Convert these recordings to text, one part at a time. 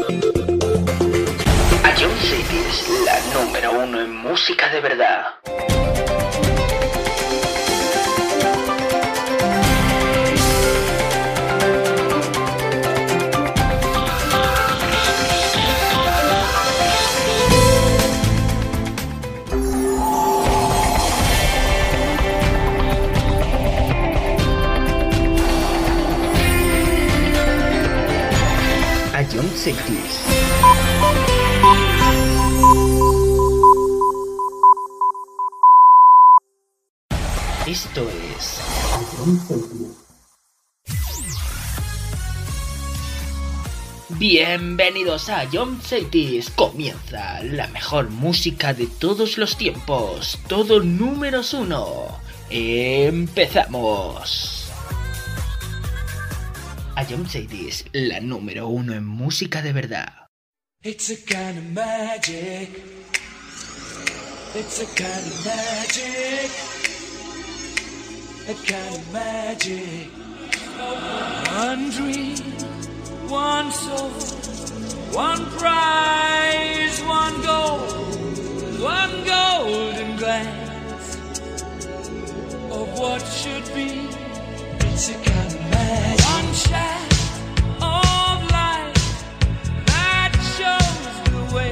Ion City es la número uno en música de verdad. Ion City. Esto es Ion City. Bienvenidos a Ion City. Comienza la mejor música de todos los tiempos. Todo números uno. Empezamos. Ion City es la número uno en música de verdad. It's a kind of magic. It's a kind of magic. A kind of magic. One dream, one soul, one prize, one golden glance of what should be. It's a kind of magic. One shaft of light that shows the way.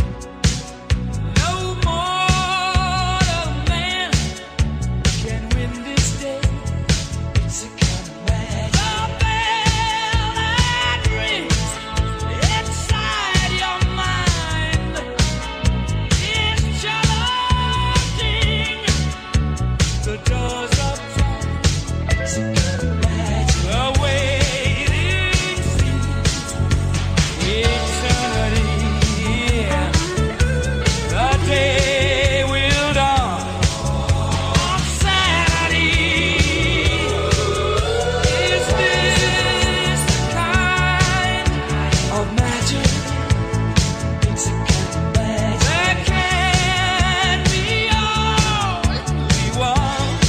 No mortal man can win this day. It's a kind of magic. The bell that rings inside your mind is challenging the doors of time. It's a kind of magic. The waiting seems eternity. The day will dawn on Saturday. Is this the kind of magic? It's a kind of magic. There can be only one.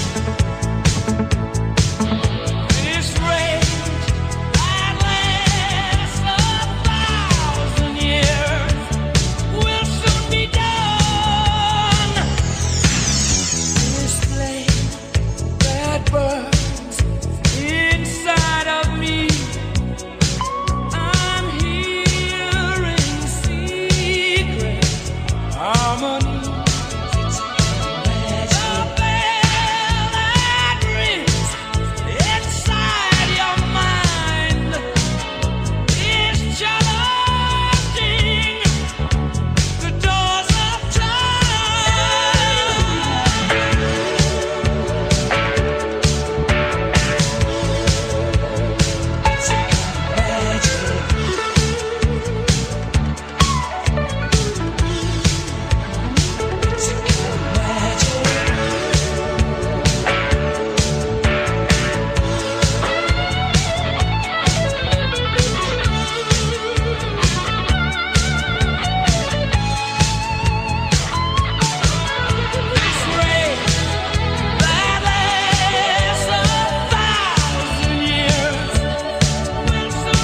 This rage that lasts 1,000 years will soon be done. This flame that burns inside of me, I'm hearing secret harmonies. It's a kind of magic. The bell that rings inside your mind is challenging the doors of time. It's a kind of magic. It's a kind of magic. This rage that lasts 1,000 years will soon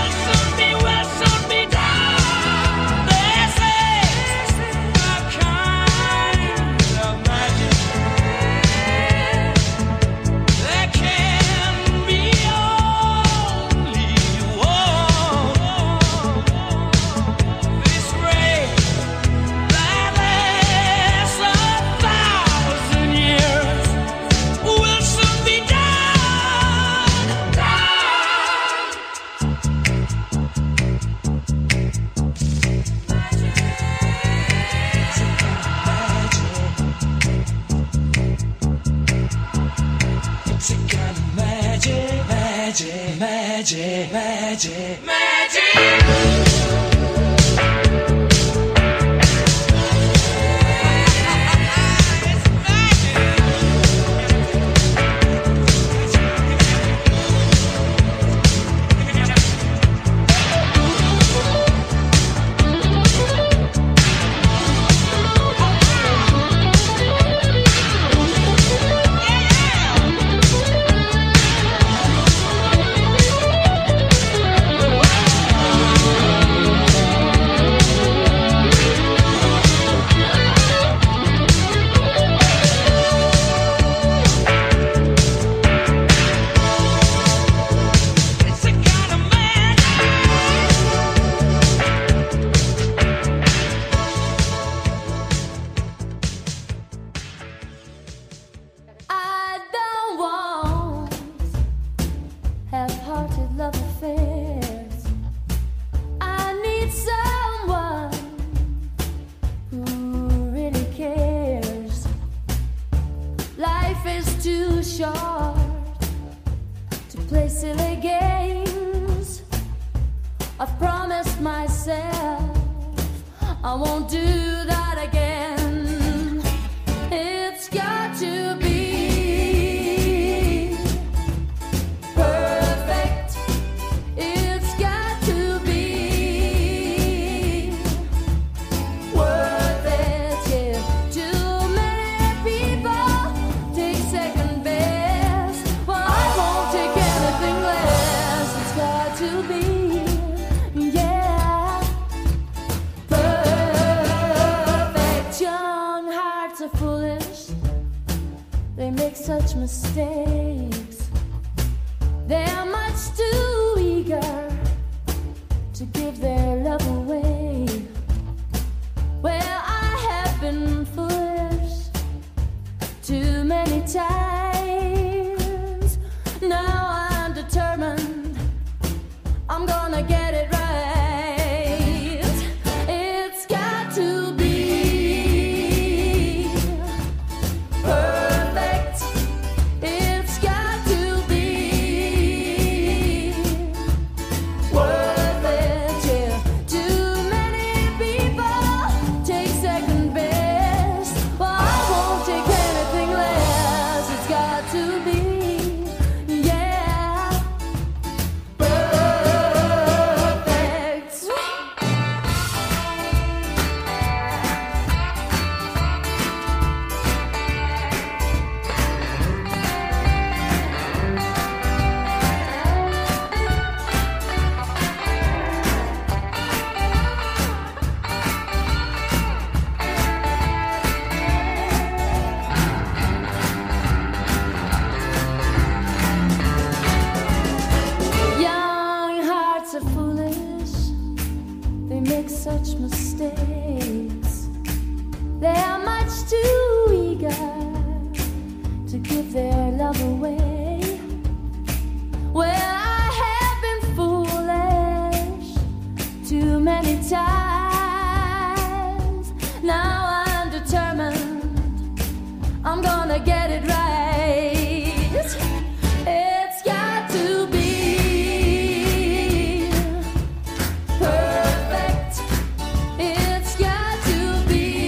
be done. This is the kind of magic. There can be only one. This rage that lasts 1,000 years will soon be done. It's a kind of magic, magic, magic, magic, magic. short to play silly games. I've promised myself I won't do that again. It's got to be perfect. It's got to be worth it. Yeah. Too many people take second best. Well, I won't take anything less. It's got to be, yeah, perfect. Young hearts are foolish. They make such mistakes. They are much too eager to give their love away. Well, I have been foolish too many times. Now I'm determined I'm gonna get it right. It's got to be perfect. It's got to be worth it. Yeah. Too many people take second best. Well, I won't take anything less. It's got to be, yeah, perfect. Young hearts are foolish. They make such mistakes. They are much too eager to give their love away. Well, I have been foolish too many times. Now I'm determined I'm gonna get it right. It's got to be perfect. It's got to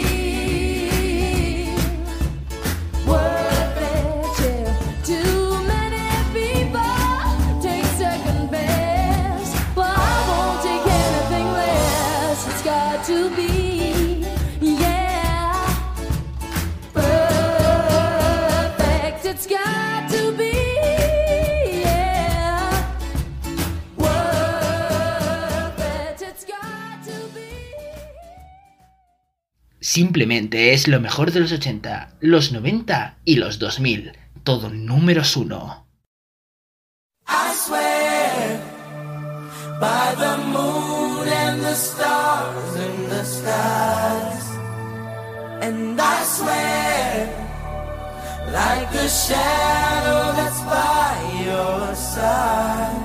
be worth it. Yeah. Too many people take second best. Well, I won't take anything less. It's got to be, yeah, perfect. It's got to be, yeah, worth it. It's got to be. Simplemente es lo mejor de los 80, los 90 y los 2000. Todo números 1. I swear by the moon and the stars in the skies, and I swear like a shadow that's by your side.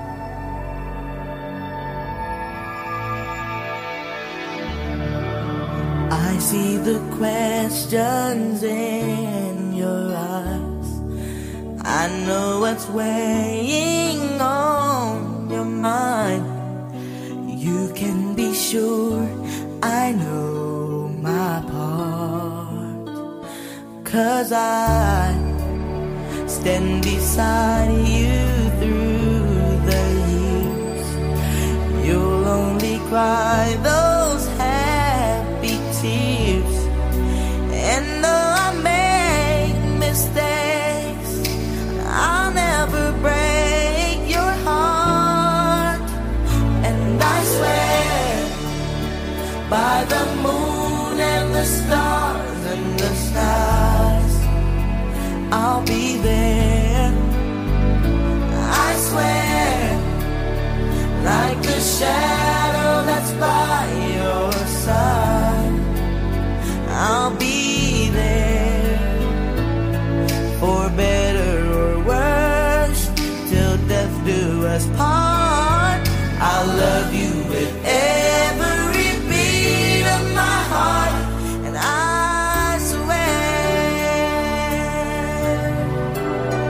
I see the questions in your eyes. I know what's weighing on your mind. You can be sure I know my part, 'cause I stand beside you through the years. You'll only cry those happy tears. And though I make mistakes, I'll never break your heart. And I swear by the moon and the stars and the stars, I'll be there. I swear like a shadow that's by your side, I'll be there. For better or worse, till death do us part. I'll love you with every beat of my heart. And I swear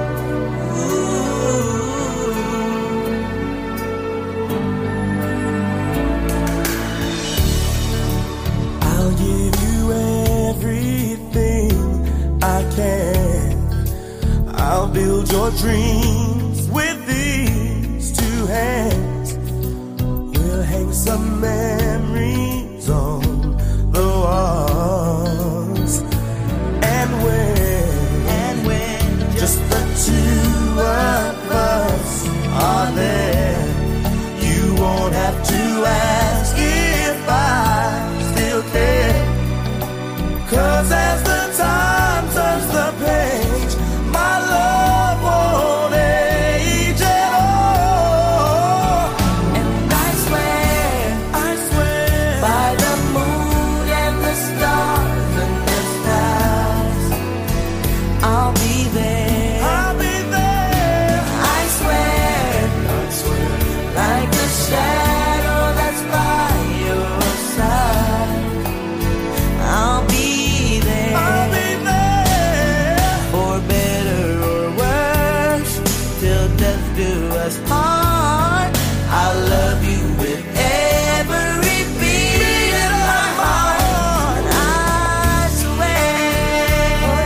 build your dreams with these two hands. We'll hang some memories on the walls. And when just the two of us are there, you won't have to ask if I still care. 'Cause as the time turns the page, my love won't age at all. And I swear, by the moon and the stars and the stars, I'll be there. I'll be there. I swear, like the shadow that's by your side, I'll be there. I'll be there. For better or worse, till death do us part. I'll love you with every beat of my heart. I swear.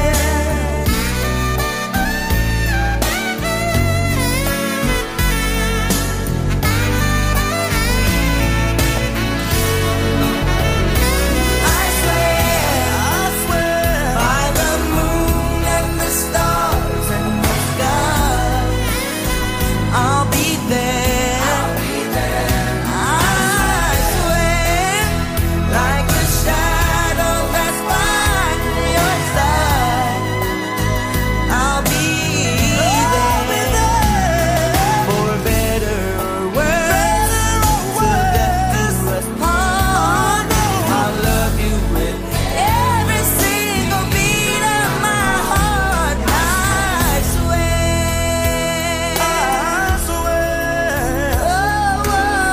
I swear, by the moon and the stars and the sky, I'll be there. I swear, like the shadow that's by your side, I'll be there. For better or worse, till death do us part. I'll love you with every single beat of my heart. I swear. I swear. Oh,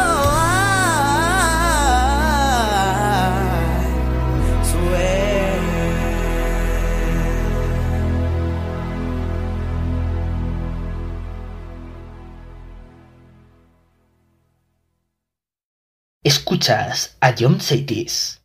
I swear. Escuchas a John Saitis.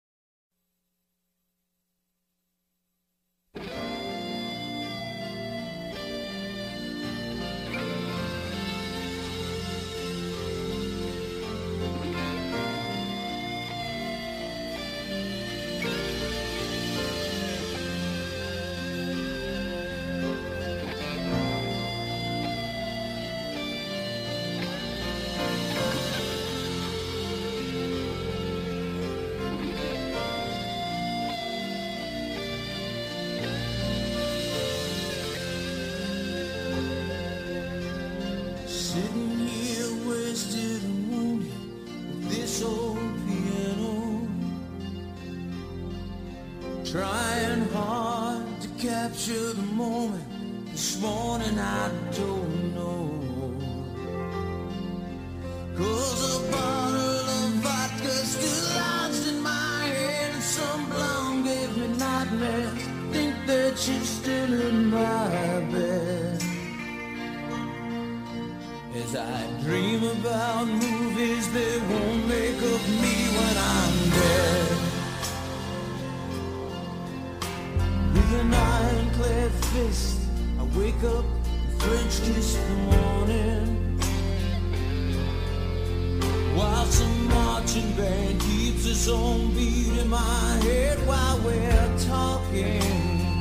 Sitting here wasted and wounded with this old piano, trying hard to capture the moment. This morning I don't know, 'cause a bottle of vodka still lodged in my head, and some blonde gave me nightmares. Think that she's still in my bed. As I dream about movies that won't make of me when I'm dead. With an ironclad fist, I wake up and French kiss the morning, while some marching band keeps its own beat in my head while we're talking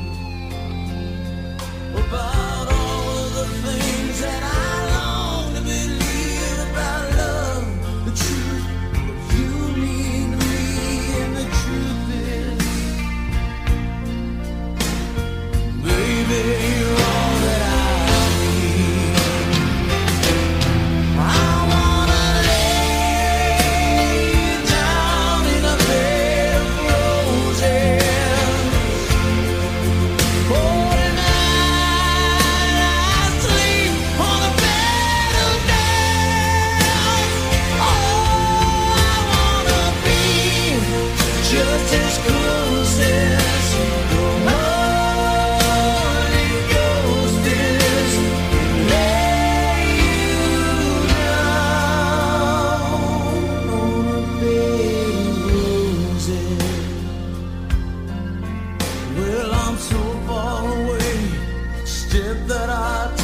about all of the things that I long to believe about love, the truth, what you mean to me, and the truth is, baby, you're all that I need. I wanna lay you down in a bed of roses. Oh, tonight I sleep on a bed of nails. Oh, I wanna be just as close as the Holy Ghost is. Lay you down on a bed of roses. Well, I'm so far away, step that I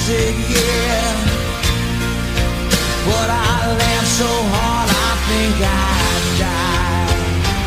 said yeah, but I laughed so hard I think I'd die.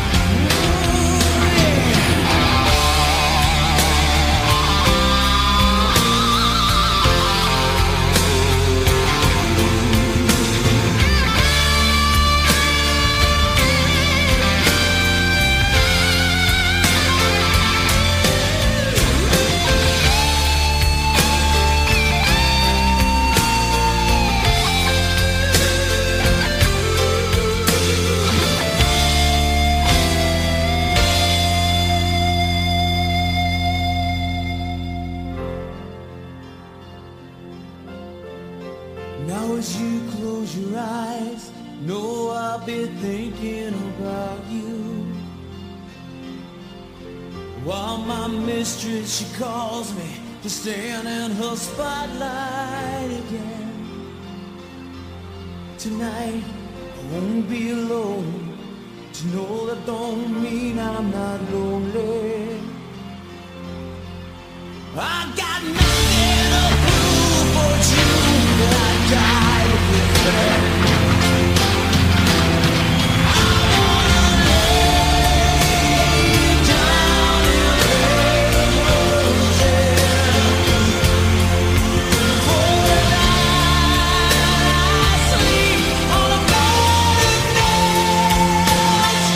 Now as you close your eyes, know I'll be thinking about you. While my mistress, she calls me to stand in her spotlight again. Tonight I won't be alone. To know that don't mean I'm not lonely. I got nothing to prove but you, that I died with that. I wanna lay down in bed for the night. I sleep on a bed of nails.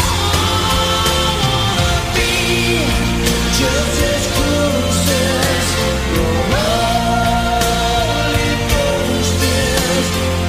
I wanna be just as close as your Holy Ghost is.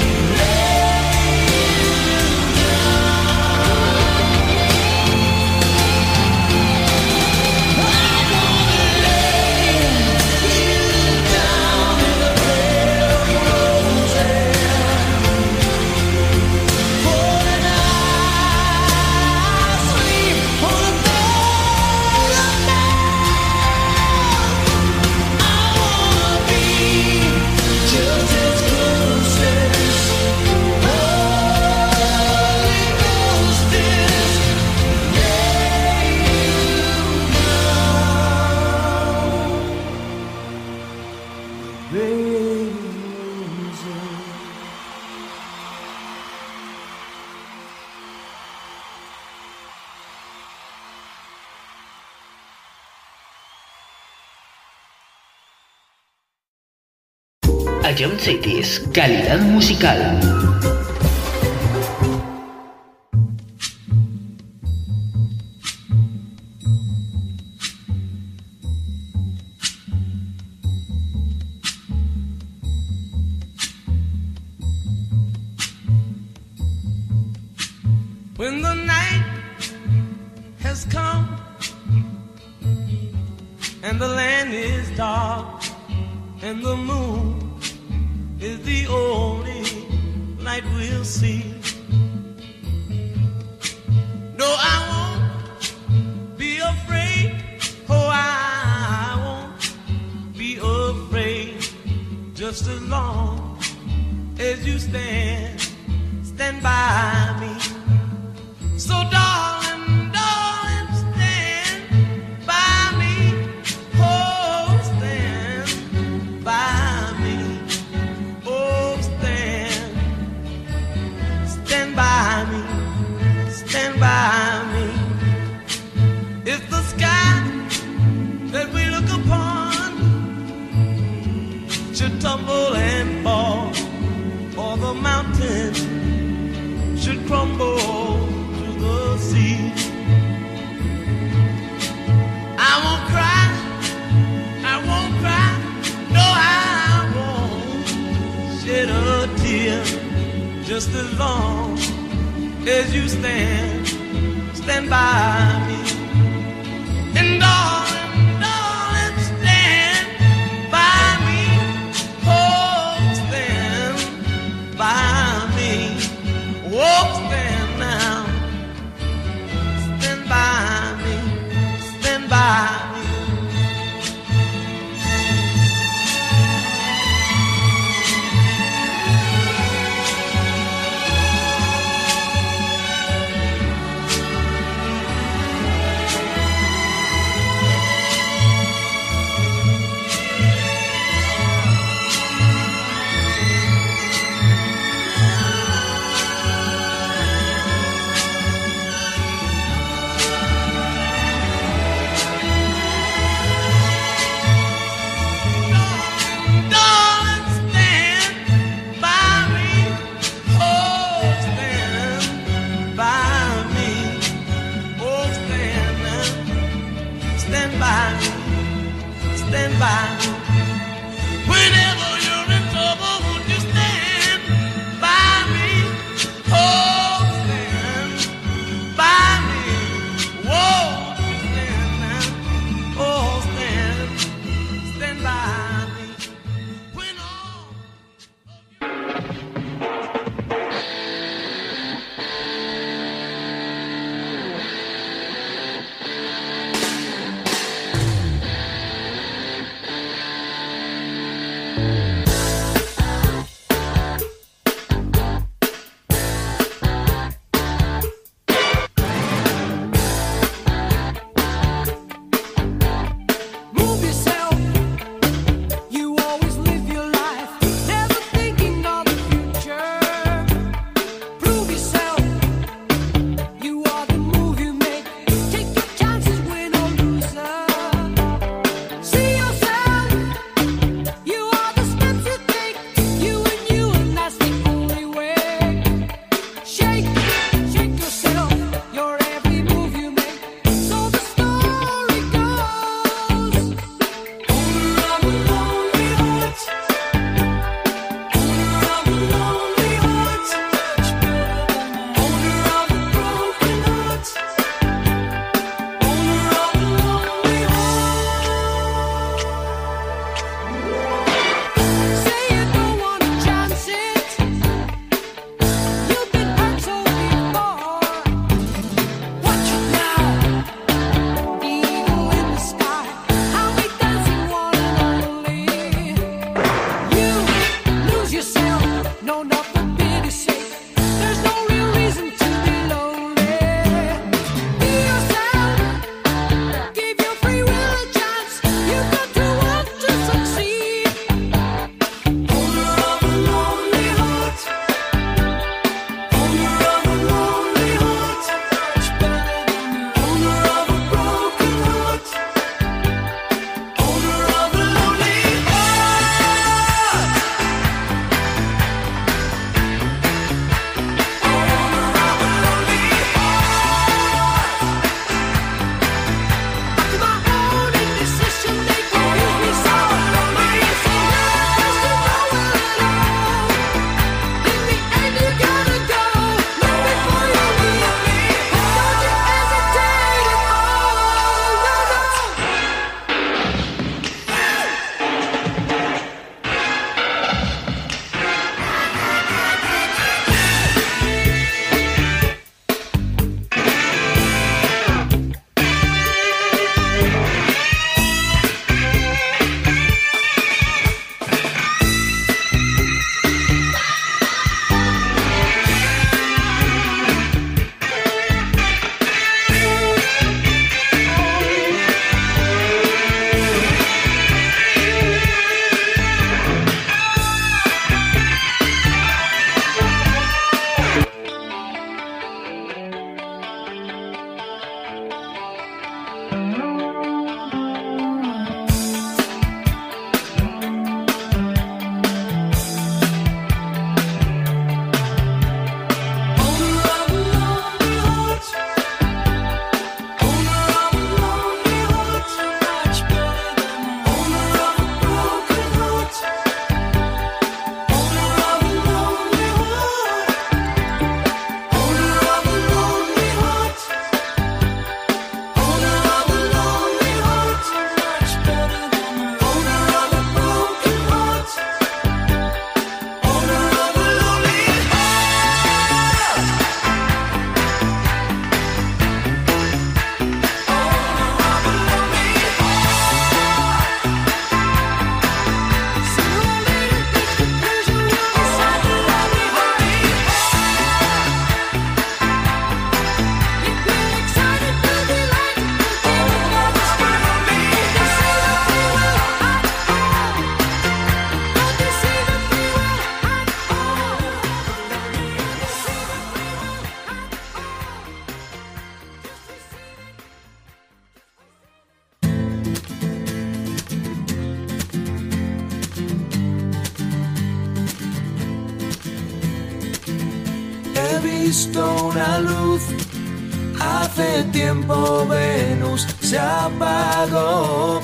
Ion Cities, calidad musical. When the night has come and the land is dark and the moon is the only light we'll see. No, I won't be afraid. Oh, I won't be afraid. Just as long as you stand by me. So darling, darling, stand by me. Oh, stand by me. Oh, stand by me. Stand by me. If the sky that we look upon should tumble and fall, or the mountain should crumble to the sea, I won't cry, I won't cry, no, I won't shed a tear. Just as long as you stand by me. And darling, darling, stand by me. Oh, stand by me. Oh, stand now. Stand by me. Stand by me. visto una luz. Hace tiempo Venus se apagó.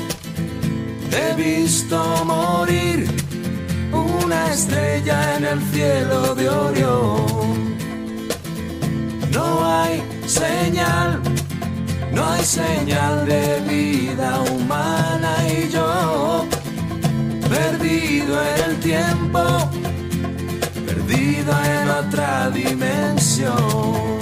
He visto morir una estrella en el cielo de Orión. No hay señal de vida humana y yo, perdido en el tiempo, perdido en otra dimensión.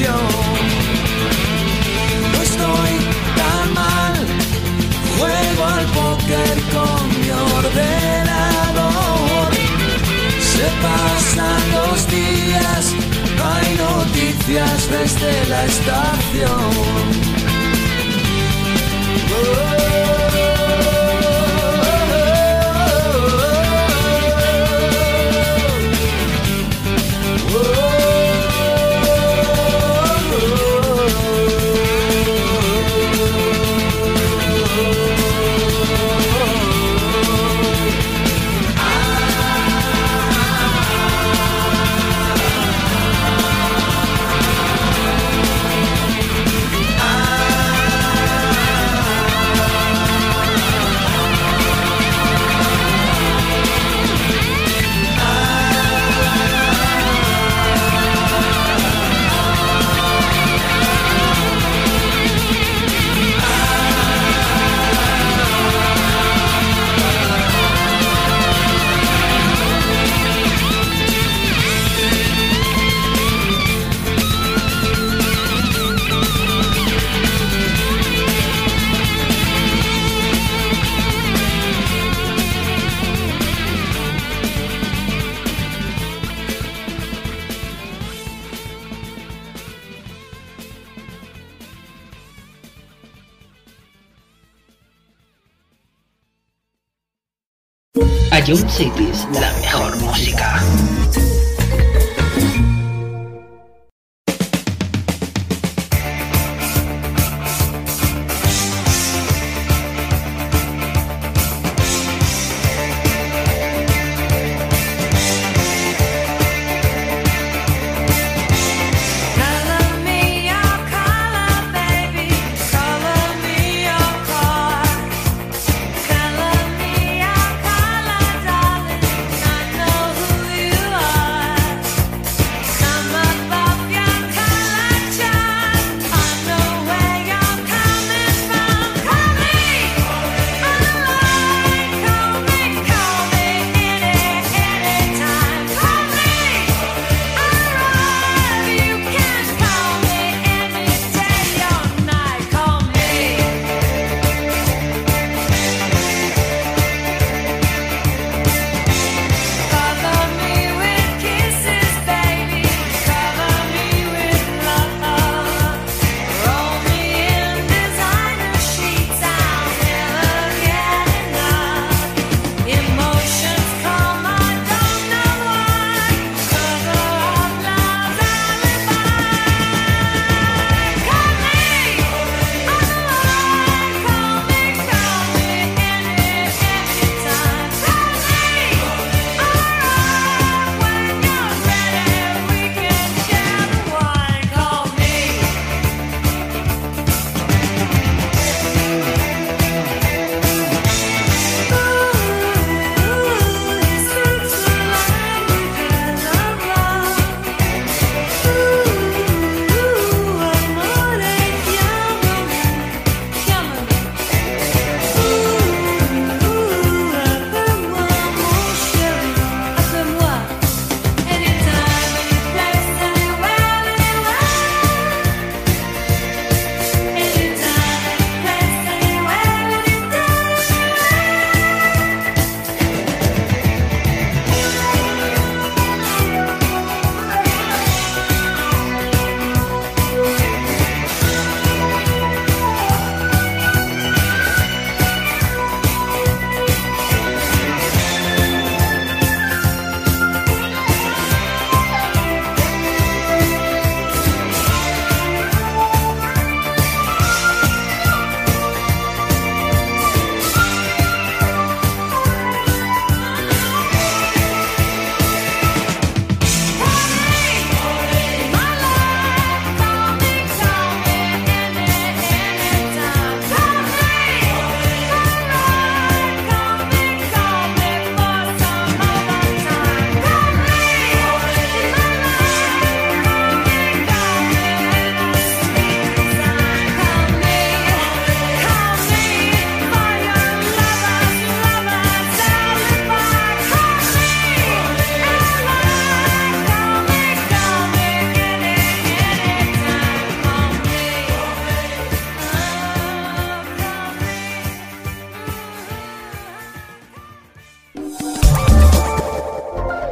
estación. No estoy tan mal, juego al póker con mi ordenador. Se pasan los días, no hay noticias desde la estación. Ion Cities, la mejor música. Color me your color, darling. I know who you are.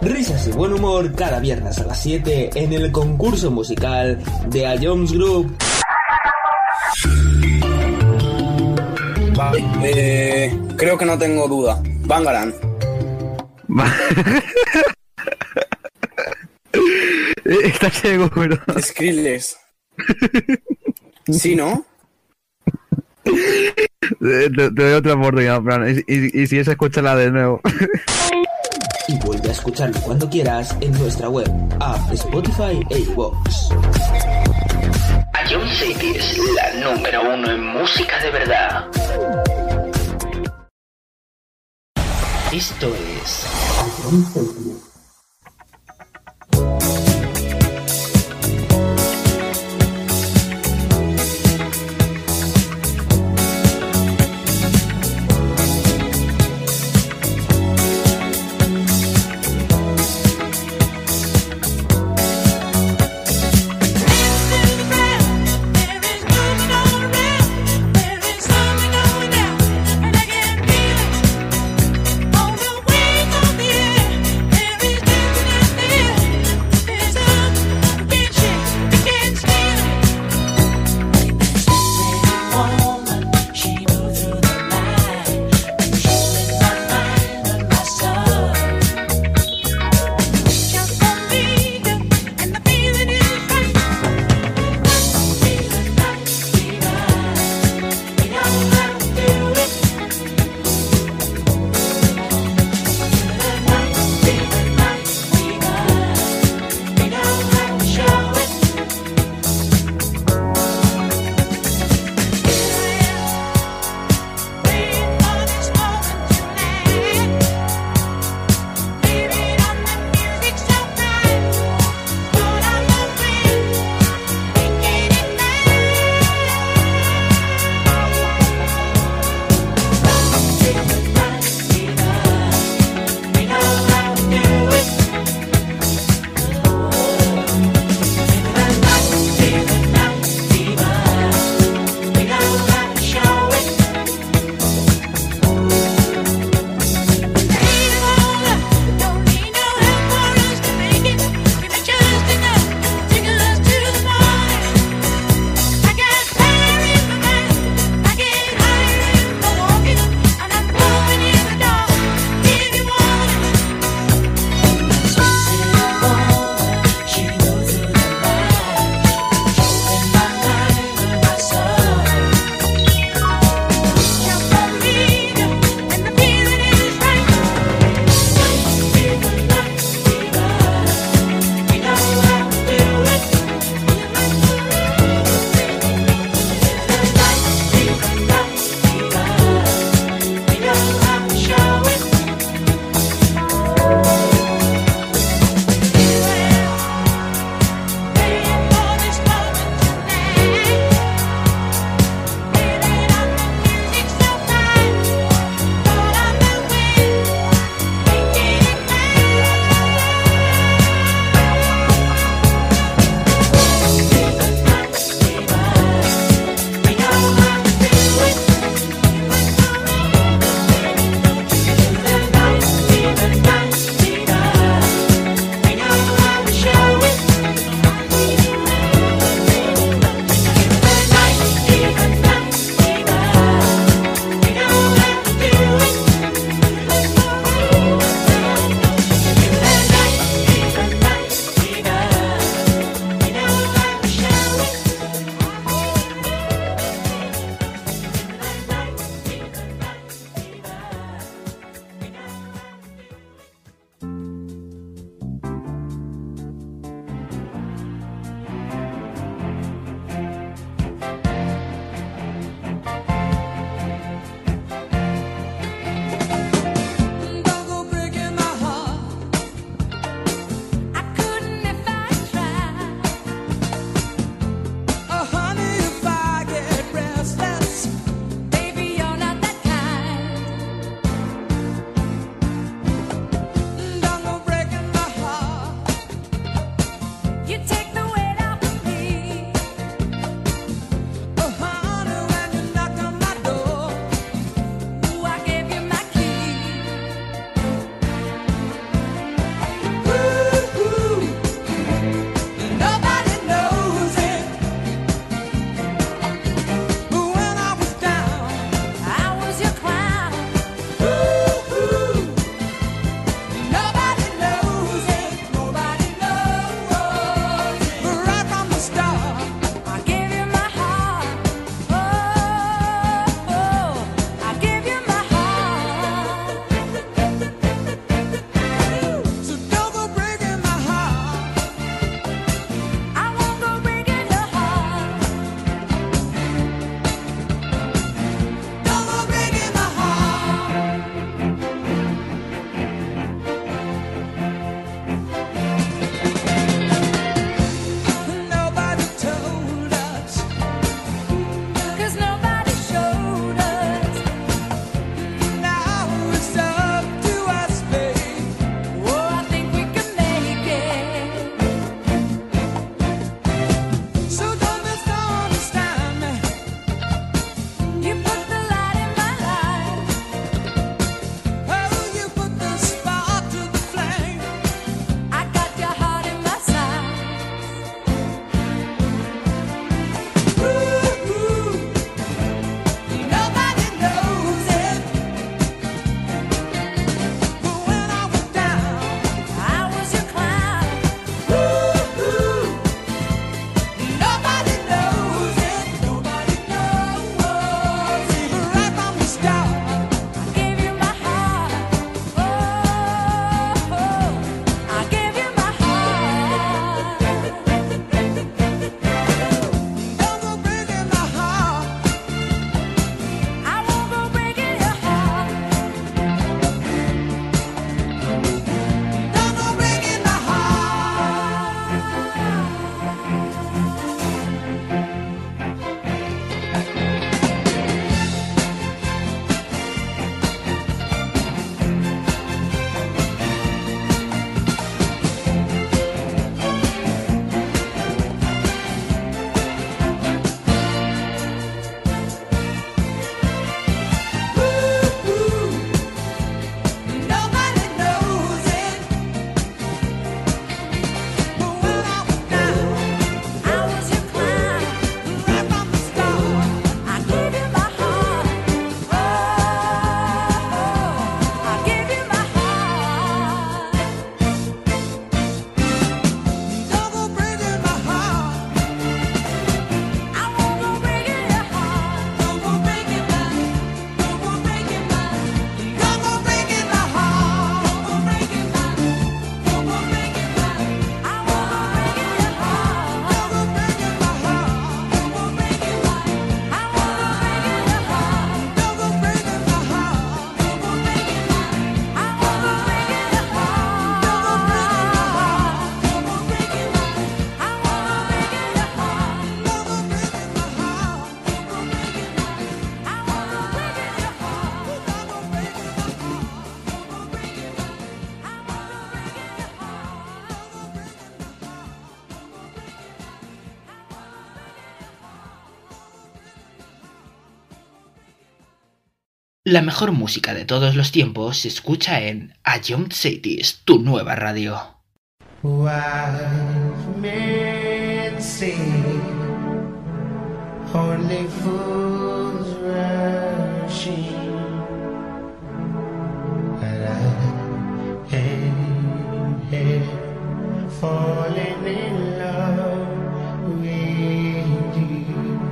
Risas y buen humor cada viernes a las 7 en el concurso musical de A Jones Group. Vale, creo que no tengo duda. Bangarang. ¿Estás seguro? Skrillex. ¿Sí, no? Te doy otra oportunidad, Fran. Y si es, escúchala de nuevo. Y vuelve a escucharlo cuando quieras en nuestra web, app, Spotify e iVoox. Ion City es la número 1 en música de verdad. Esto es Ion City. There is La mejor música de todos los tiempos se escucha en A Young Cities, tu nueva radio. Wise men say only fools rushing, but I am here falling in love with you.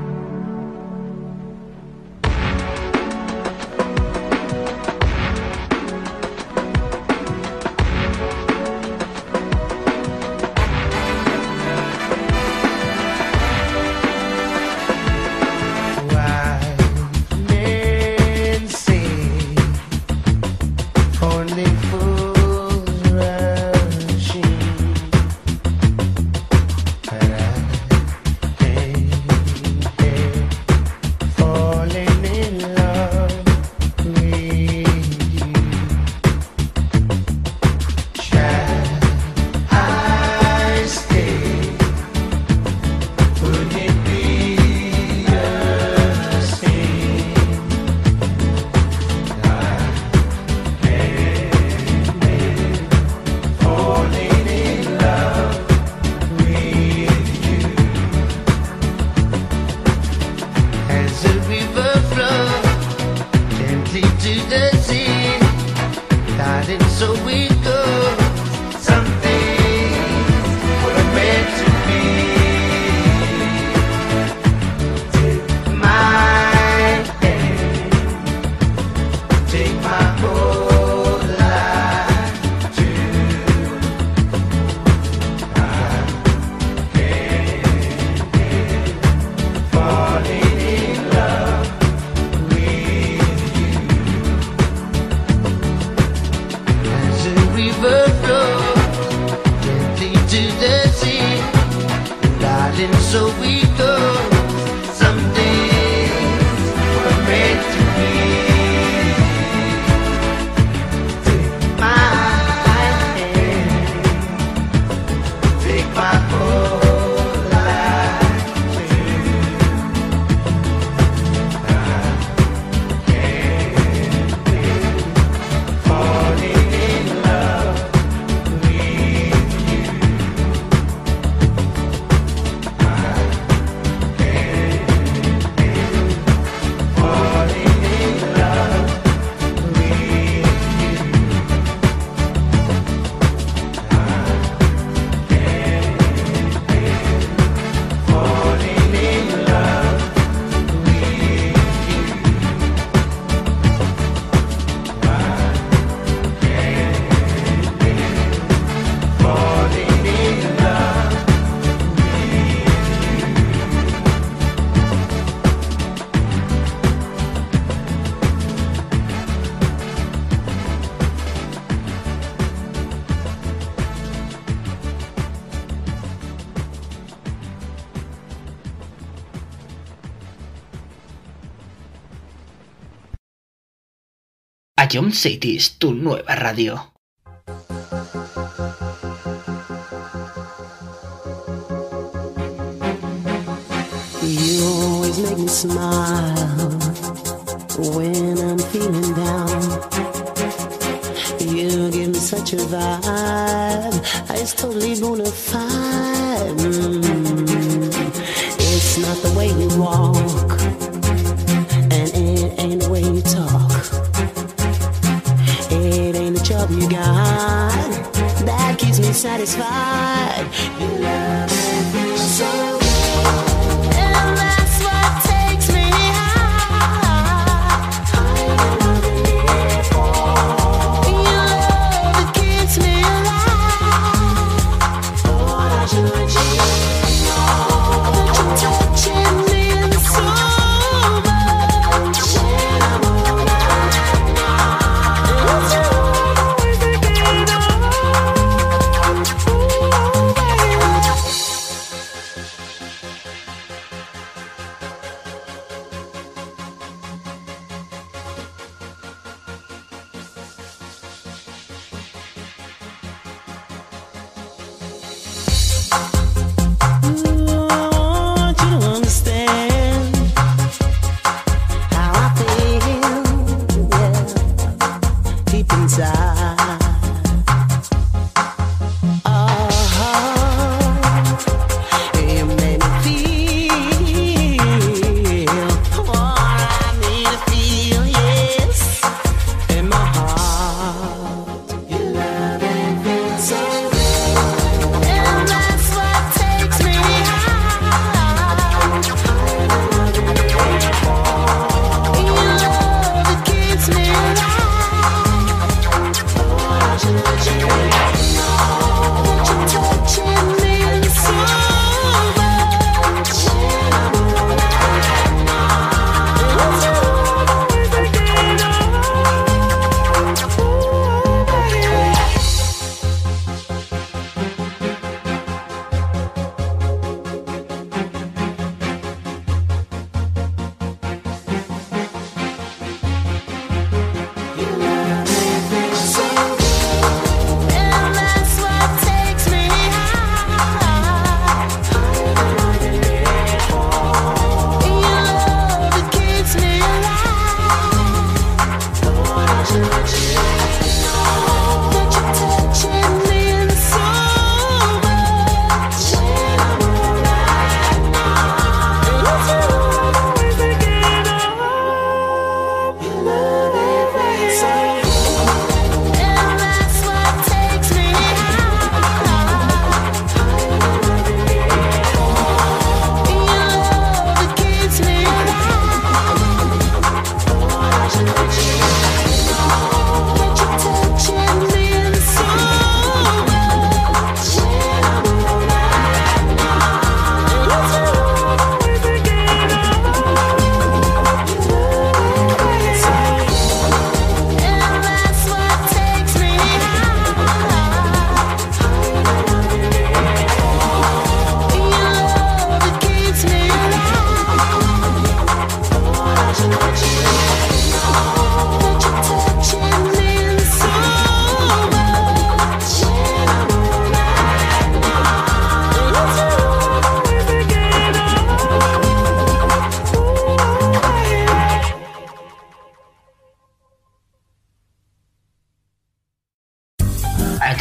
A Young Cities, tu nueva radio. You always make me smile when I'm feeling down. You give me such a vibe, it's totally bona fide. It's not the way you walk, and it ain't the way you talk. It ain't the job you got that keeps me satisfied. You love me so.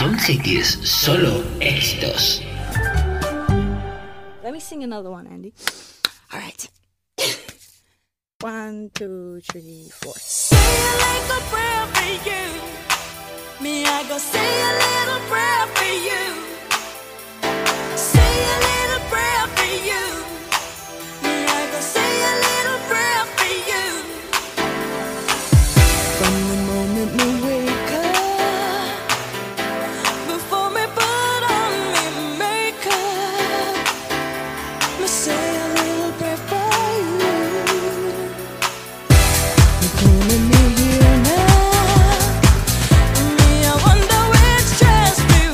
John Cities, solo éxitos. Let me sing another one, Andy. All right. 1, 2, 3, 4. Say a little prayer for you. Me, I go say a little prayer for you. Say a little prayer for you. Me, I go say a little prayer for you. From the moment we wake up, before me put on me makeup, me say a little prayer for you. You're calling me here now. Me, I wonder which dress we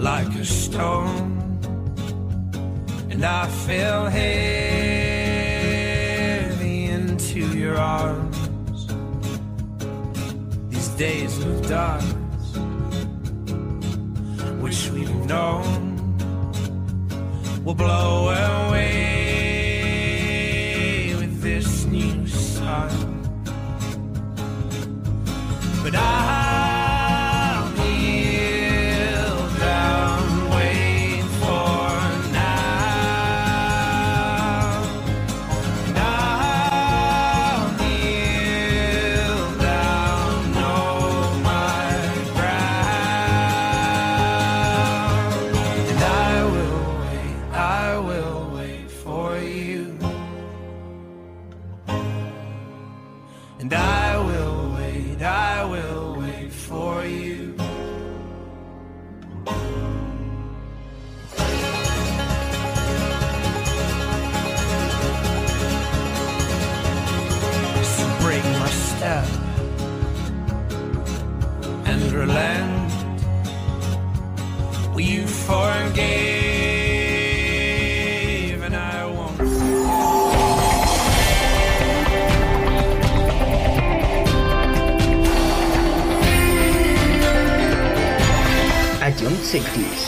like a stone, and I fell heavy into your arms. These days of darkness, which we've known, will blow away with this new sun. But I'll kneel down, wait for now. And I'll kneel down, know my ground. And I will wait for you. And I will wait for you. So break my step and relent. Will you forgive and I won't. A John Sectis.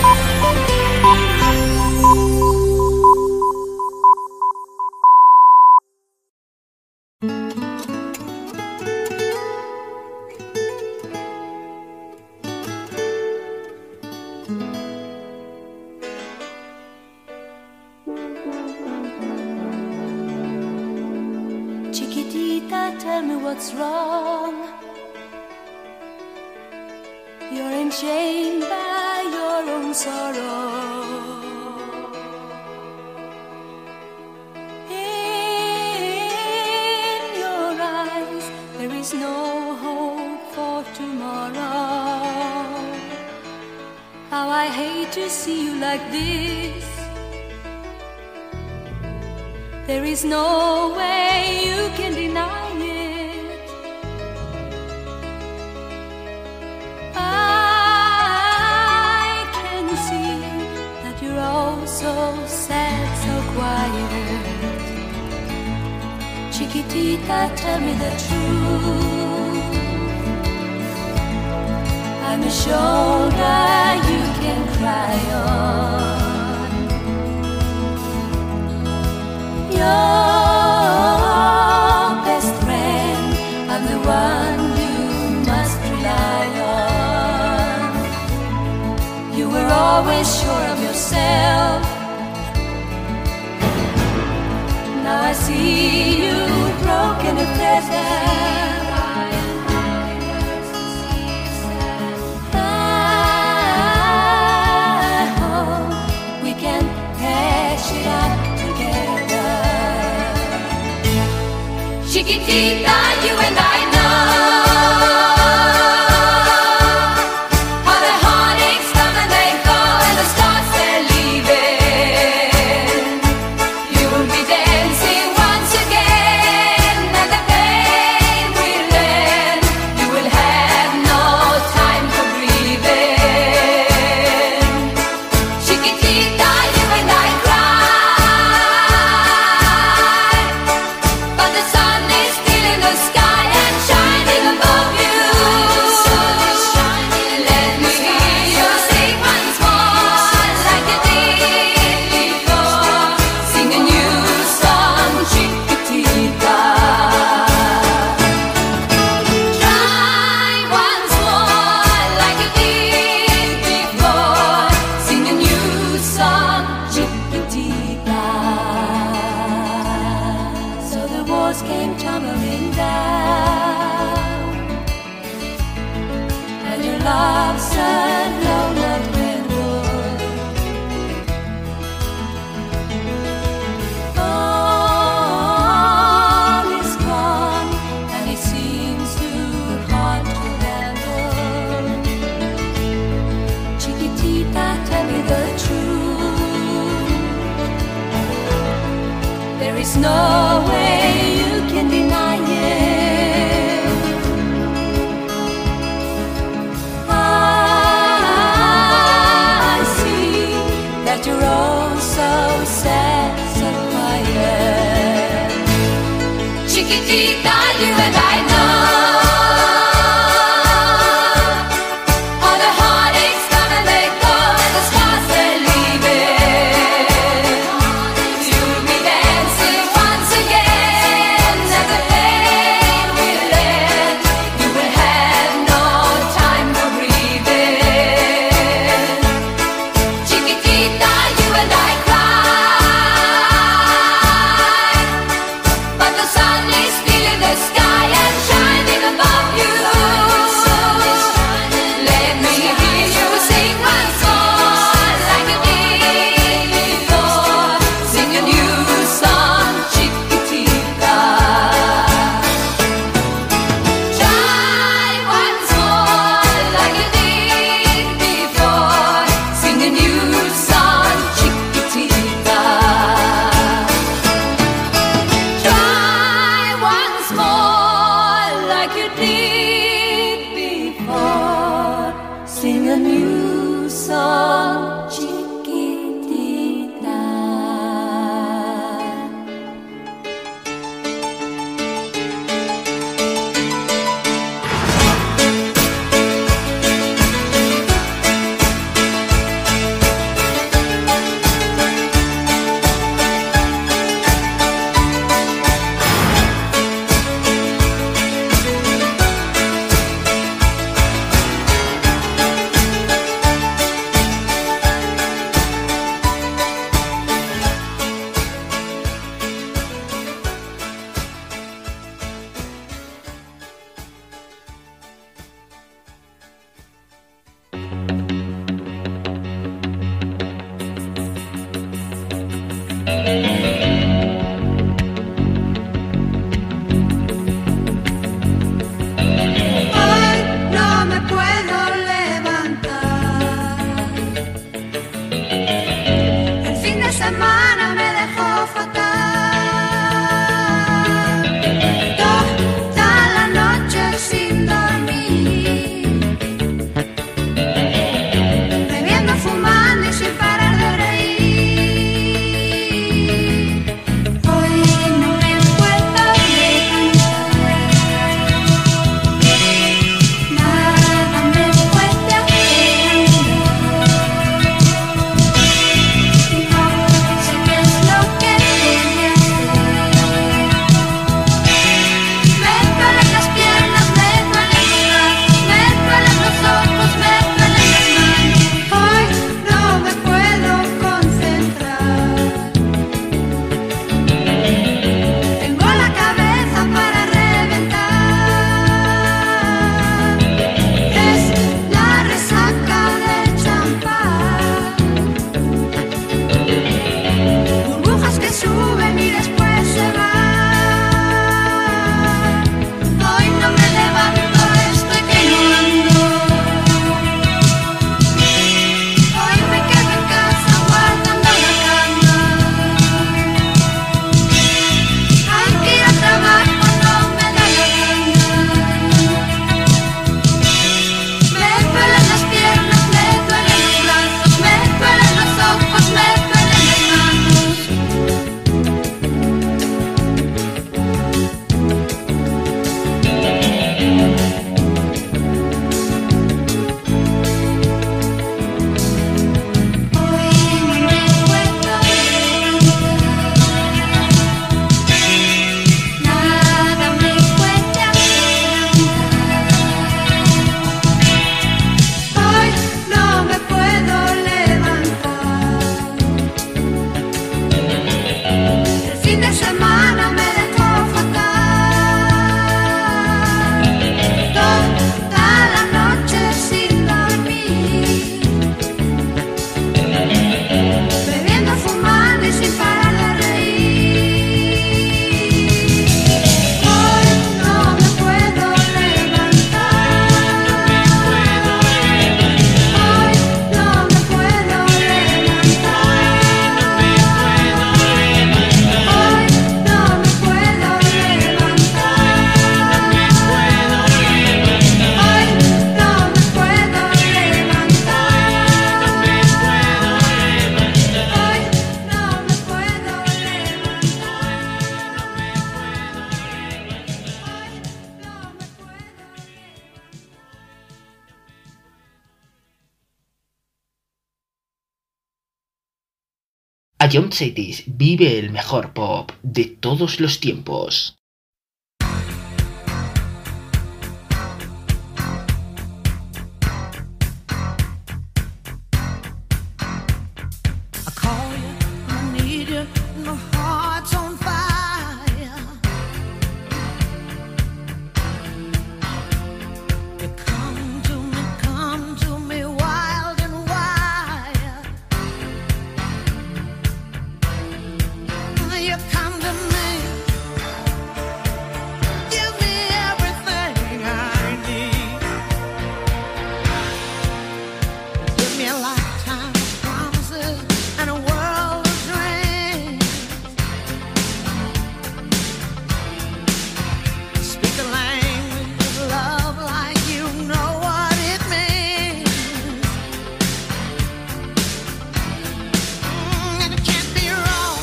Chiquitita, tell me what's wrong. You're enchained by your own sorrow. In your eyes, there is no hope for tomorrow. How I hate to see you like this. There is no way you can deny it. I can see that you're all so sad, so quiet. Chiquitita, tell me the truth. I'm a shoulder you can cry on. Your best friend, I'm the one you must rely on. You were always sure of yourself. Now I see you broken and feathered. I hope we can hash it out together. Chiquitita, you and I know how the heartaches come and they go and the stars they're leaving. You'll be dancing once again and the pain will end. You will have no time for breathing. Chiquitita, you and I cry, but the sun is still in the sky and shining above you. Let me hear you sing once more like you did before. Sing a new song, Chiquitita. Try once more like you did before. Sing a new song, Chiquitita. So the walls came tumbling down, and your love said no, not redwood. All is gone, and it seems too hard to handle. Chiquitita, tell me the truth. There is no way you can deny it. I Chiquitita, you and I know all the heartaches come and they go, and the stars they're leaving. You'll be dancing once again, and the pain will end. You will have no time for breathing. Chiquitita, you and I cry, but the sun is still in the sky and shining above you. Let me hear you sing once more like you did before. Sing a new song, Chiquitita. Try once more like you did before. Sing a new song, Chiquitita. Try once more like you did before. Sing a new song, Chiquitita. A John Cities vive el mejor pop de todos los tiempos. I call you, I need you, my heart's on fire. You come to me wild and wild. You come to me, give me everything I need. Give me a lifetime of promises and a world of dreams. Speak a language of love like you know what it means. And it can't be wrong.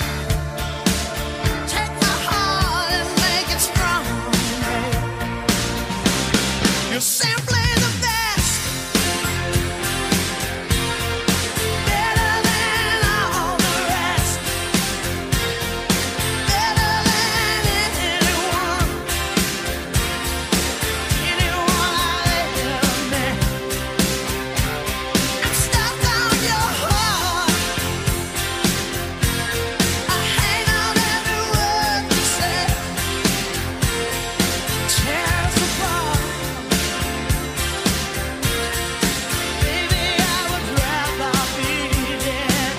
Take my heart and make it strong. You're simply the best. Better than all the rest. Better than anyone. Anyone I've ever met. I'm stuck on your heart. I hang on every word you say. Tears apart. Baby, I would rather be dead.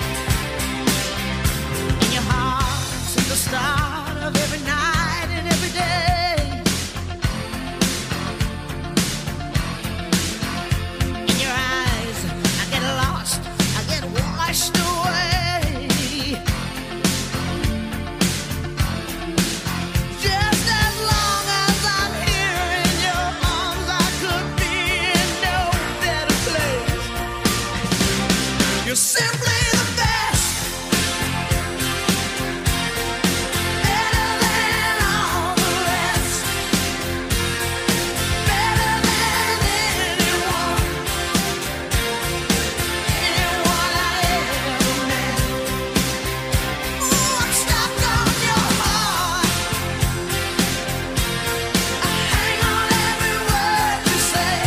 In your heart since the start of every night and every day. In your eyes, I get lost, I get washed away. Just as long as I'm here in your arms, I could be in no better place. You're simply the best. Better than all the rest. Better than anyone. Anyone I ever met. Ooh, I'm stuck on your heart. I hang on every word you say.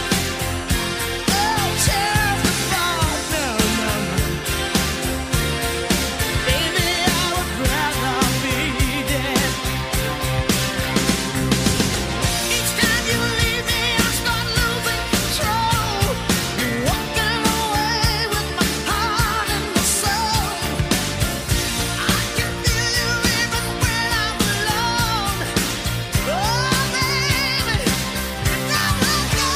Oh, tears apart. No, no, no. Baby, I would rather be dead. Each time you leave me, I start losing control. You're walking away with my heart and my soul. I can feel you even when I'm alone. Oh, baby, never let go.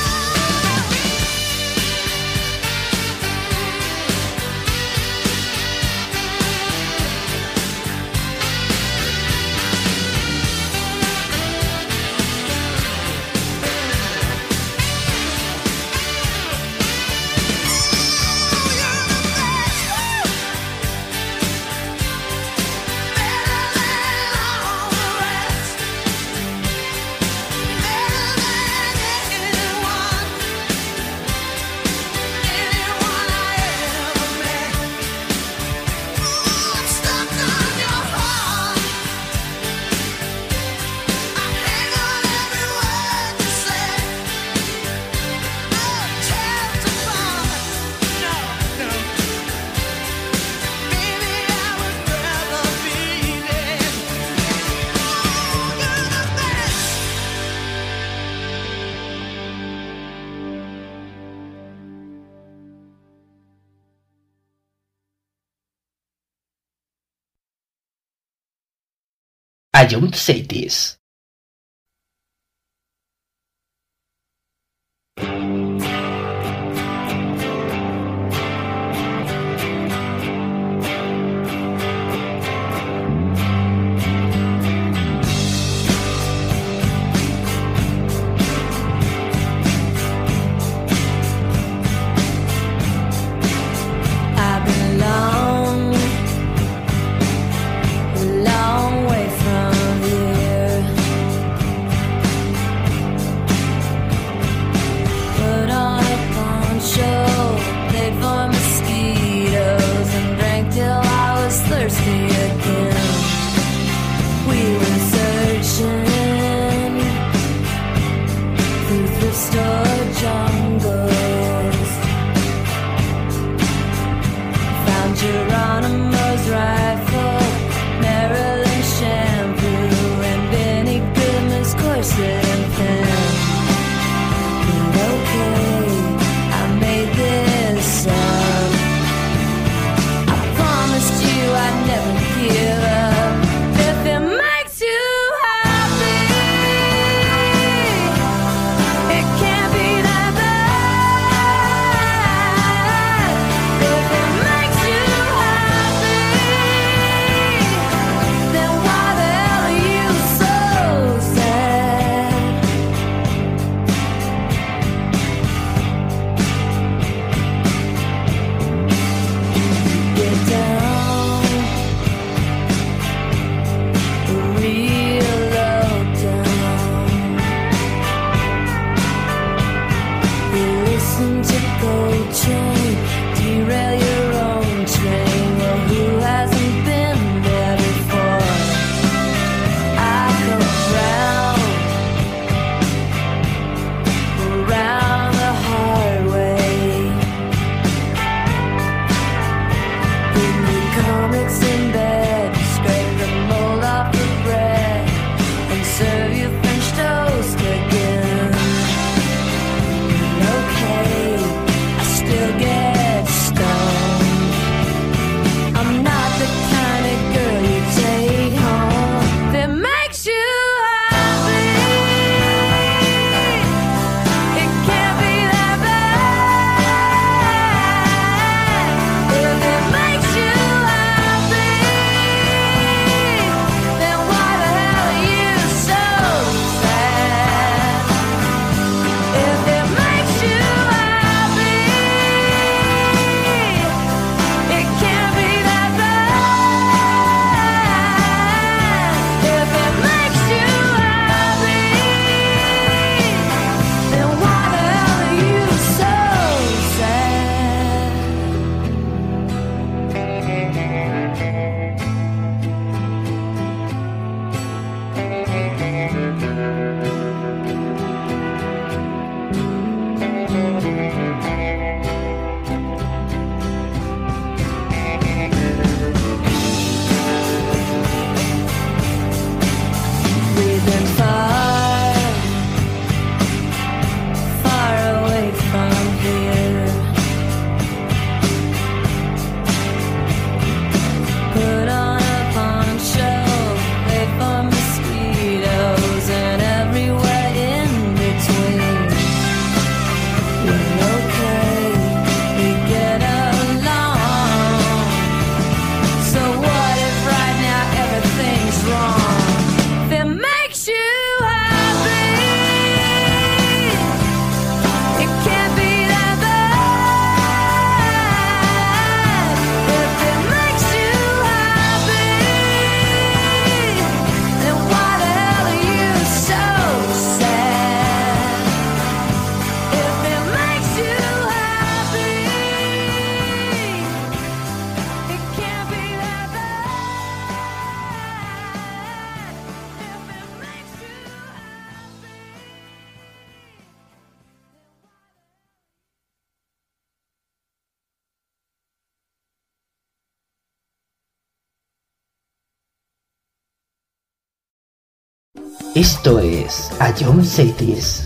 A John Cities. I belong a long way from here. Put on a poncho, played for mosquitoes, and drank till I Esto es A John Cities.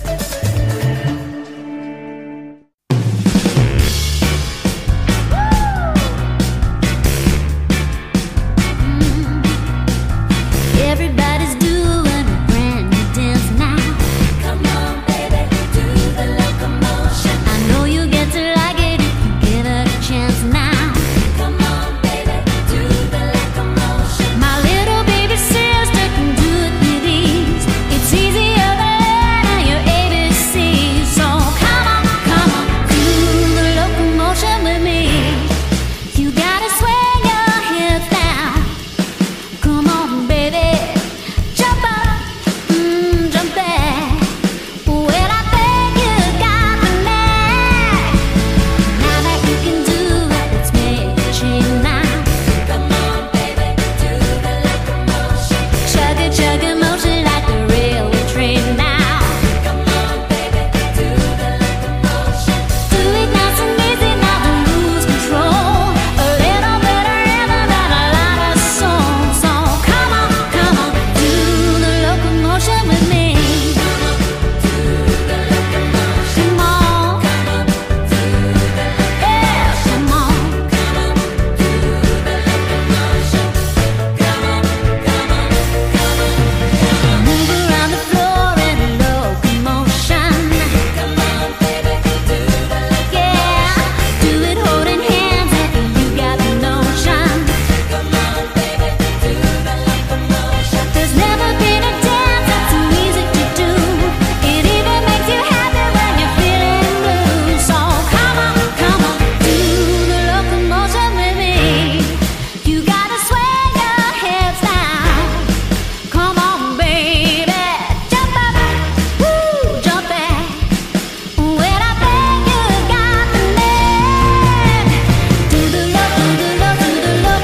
Everybody's doing a brand new dance now. Come on, baby, do the locomotion. I know you get to like it if you give it a chance now. Come on, baby, do the locomotion. My little baby sister can do it with ease. It's easier than learning your ABC. So come on, do the locomotion with me. You gotta swing your hips down. Come on, baby, jump up, jump back. Well, I think you got the knack. Now that you can do it, let's make a change now. Come on, baby, do the locomotion. Chug a motion like the railway train now. Come on, baby, do the locomotion. Do it nice and easy, now don't lose control. A little bit of rhythm and a lot of soul. So come on, do the locomotion with me. Come on, do the locomotion. Come on, do the locomotion. Yeah, come on, do the locomotion. Come on. Move around the floor in a locomotion. Come on, baby, do the locomotion. Yeah, do it holding hands if you got the notion. Come on, baby, do the locomotion. There's never been a dance that's so easy to do. It even makes you happy when you're feeling blue. So come on, do the locomotion with me. You gotta swing your hips down. Come on, baby, jump up, jump back. Well, I think you got the knack. Do the locomotion.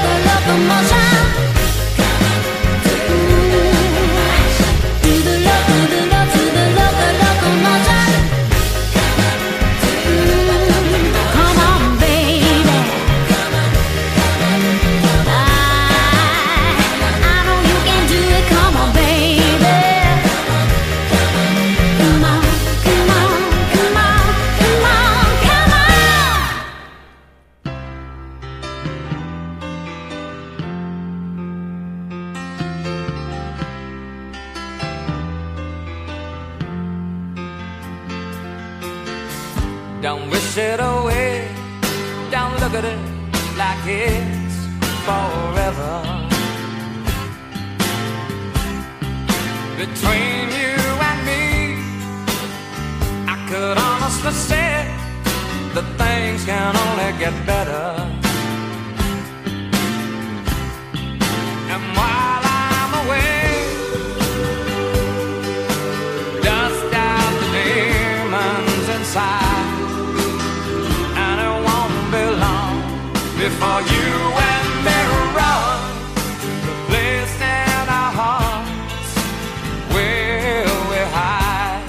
Do the locomotion. Come on, baby. I know you can do it. Come on, baby. Come on. Don't wish it away. Don't look at it like it's forever. Between you and me, I could honestly say that things can only get better. And while I'm away, dust out the demons inside. And it won't be long before you and me run the place in our hearts where we hide.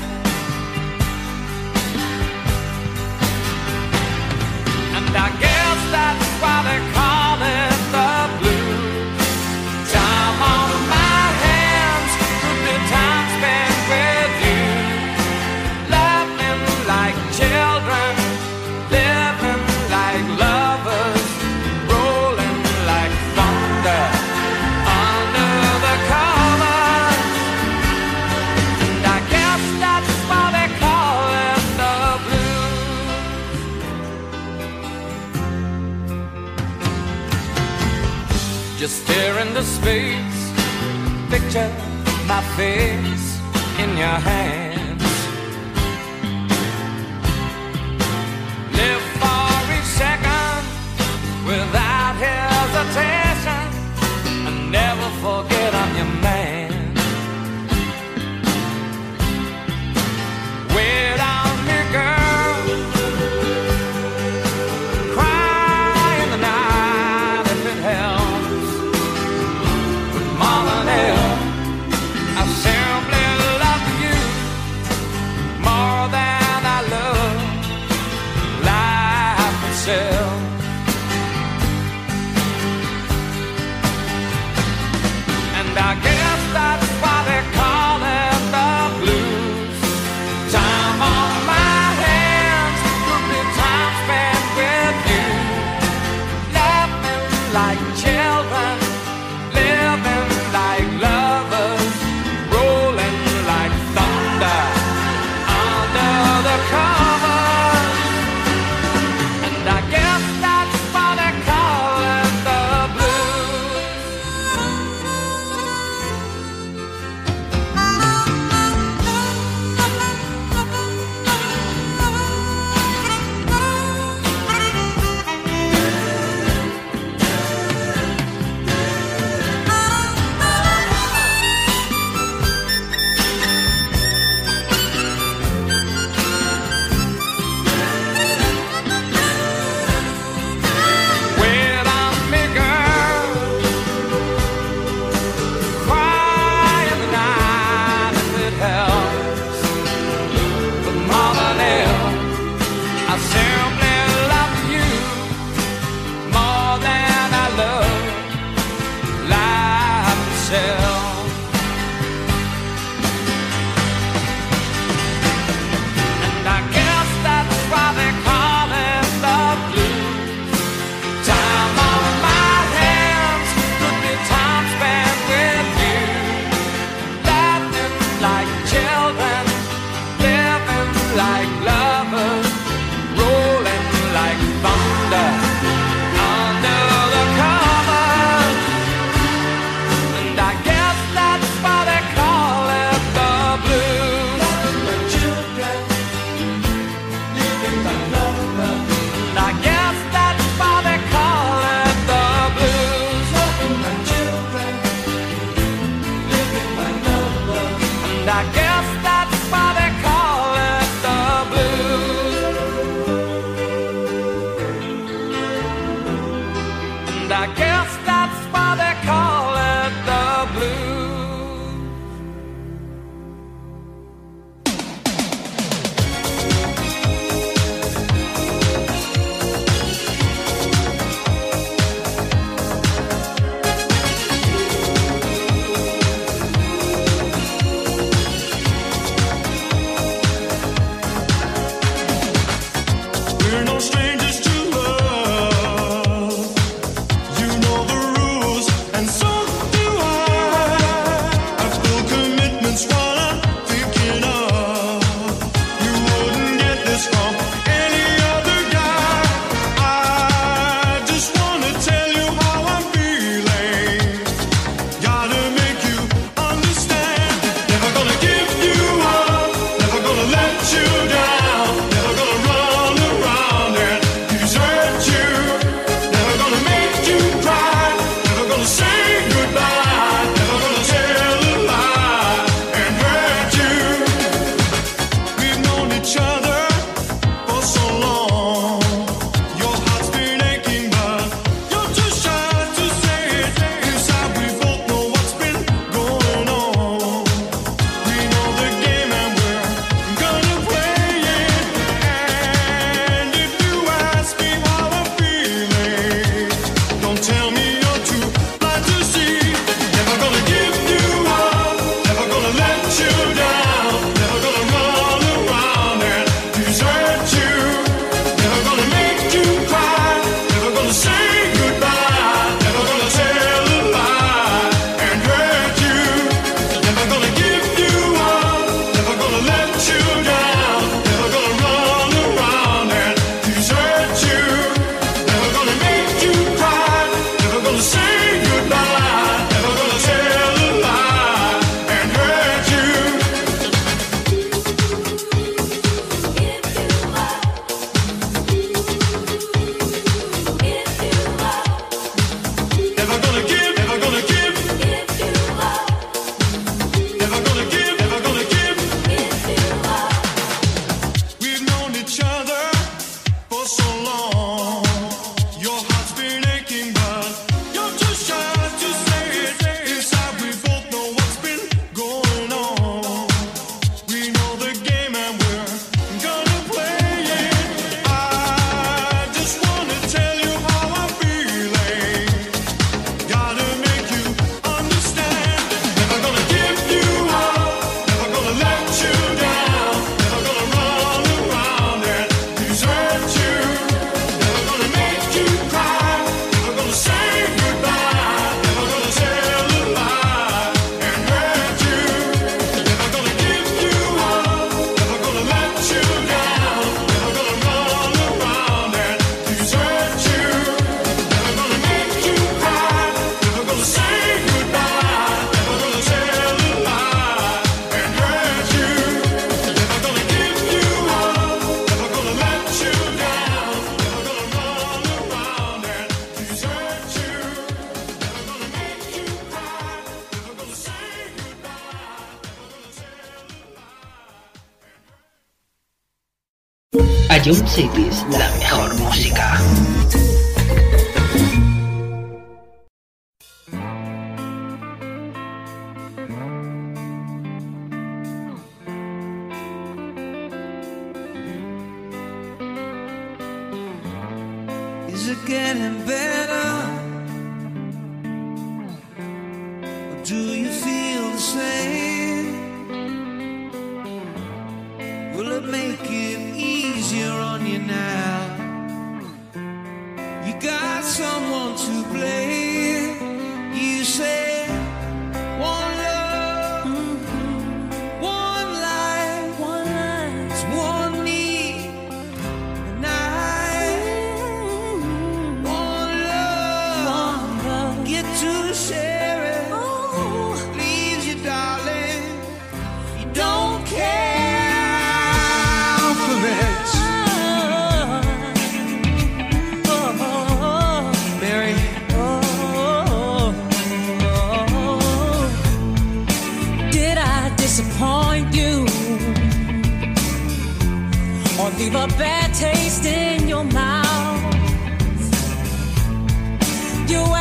And I guess that's why they call it the blues. Time on my hands, good time spent with you. Laughing like children, living like lovers, rolling like thunder under the covers. And I guess that's why they call it the blues. Just stare into space, picture my face in your hands. Live for each second without hesitation, and never forget I'm your man. Wait on me, girl. Cry in the night if it helps. But more than ever, I simply love you. I guess that's why they call it the blues. We're no strangers to love. You know the rules, and so do I. I've still commitments while I'm thinking of. You wouldn't get this from any other guy. I just wanna tell you how I'm feeling. Gotta make you understand. Never gonna give you up. Never gonna let you down. Never gonna run around and desert you. Never gonna make you cry. Never gonna say goodbye. Never gonna tell a lie and hurt you. We've known each other for so long. Your heart's been aching, but you're too shy to say it. Inside we both know what's been going on. We know the game and we're gonna play it. And if you ask me how I'm feeling, don't tell me you're too blind to see. Never gonna give you up. Never gonna let you down. Never gonna run around and desert you. Never gonna make you cry. Never gonna say goodbye. Never gonna tell a lie and hurt you. Never gonna give you up. Never gonna let you down. Never gonna run around and desert you. Never gonna make you cry. Never gonna say goodbye. Never gonna tell a lie and hurt you. Never gonna give, never gonna give. Never gonna give, never gonna give. We've known each other for so long. Your heart's been aching, but you're too shy to say it. Inside we both know what's been going on. We know the game and we're gonna play it. I just wanna tell you how I'm feeling. Gotta make you understand. Never gonna give you up. Never gonna let you down. Never gonna run around and desert you. Never gonna make you cry. Never gonna say goodbye. Never gonna tell a lie and hurt you. Never gonna give you up. Never gonna let you down. Never gonna run around and desert you. Never gonna make you cry. Never gonna say goodbye. Never gonna tell a lie and hurt you. Never gonna give you up. Never gonna let you down. Never gonna run around and desert you. Never gonna make you cry. Never gonna say goodbye. Never gonna tell a lie. Ion Cities, la mejor música. Is it getting better? Or do you feel the same? Will it make it easier on you now? You got someone to blame. You say one love, one life, it's one need, and one love, get to share it. Please you, darling, you don't care for it. Mary, did I disappoint you or leave a bad taste in your mouth? You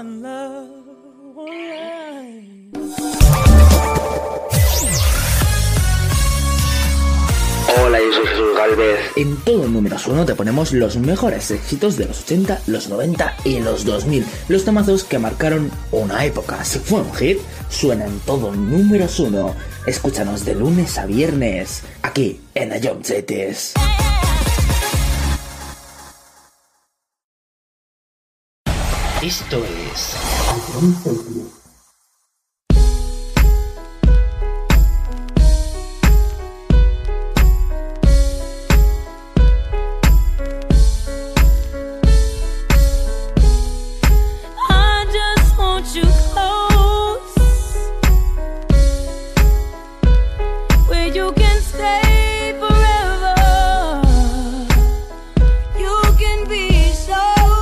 one love, one life. Hola, yo soy Jesús Galvez. En todo Números 1 te ponemos los mejores éxitos de los 80, los 90 y los 2000. Los temazos que marcaron una época. Si fue un hit, suena en todo Números 1. Escúchanos de lunes a viernes, aquí en The Jump Cities. Esto es... You close, where you can stay forever. You can be so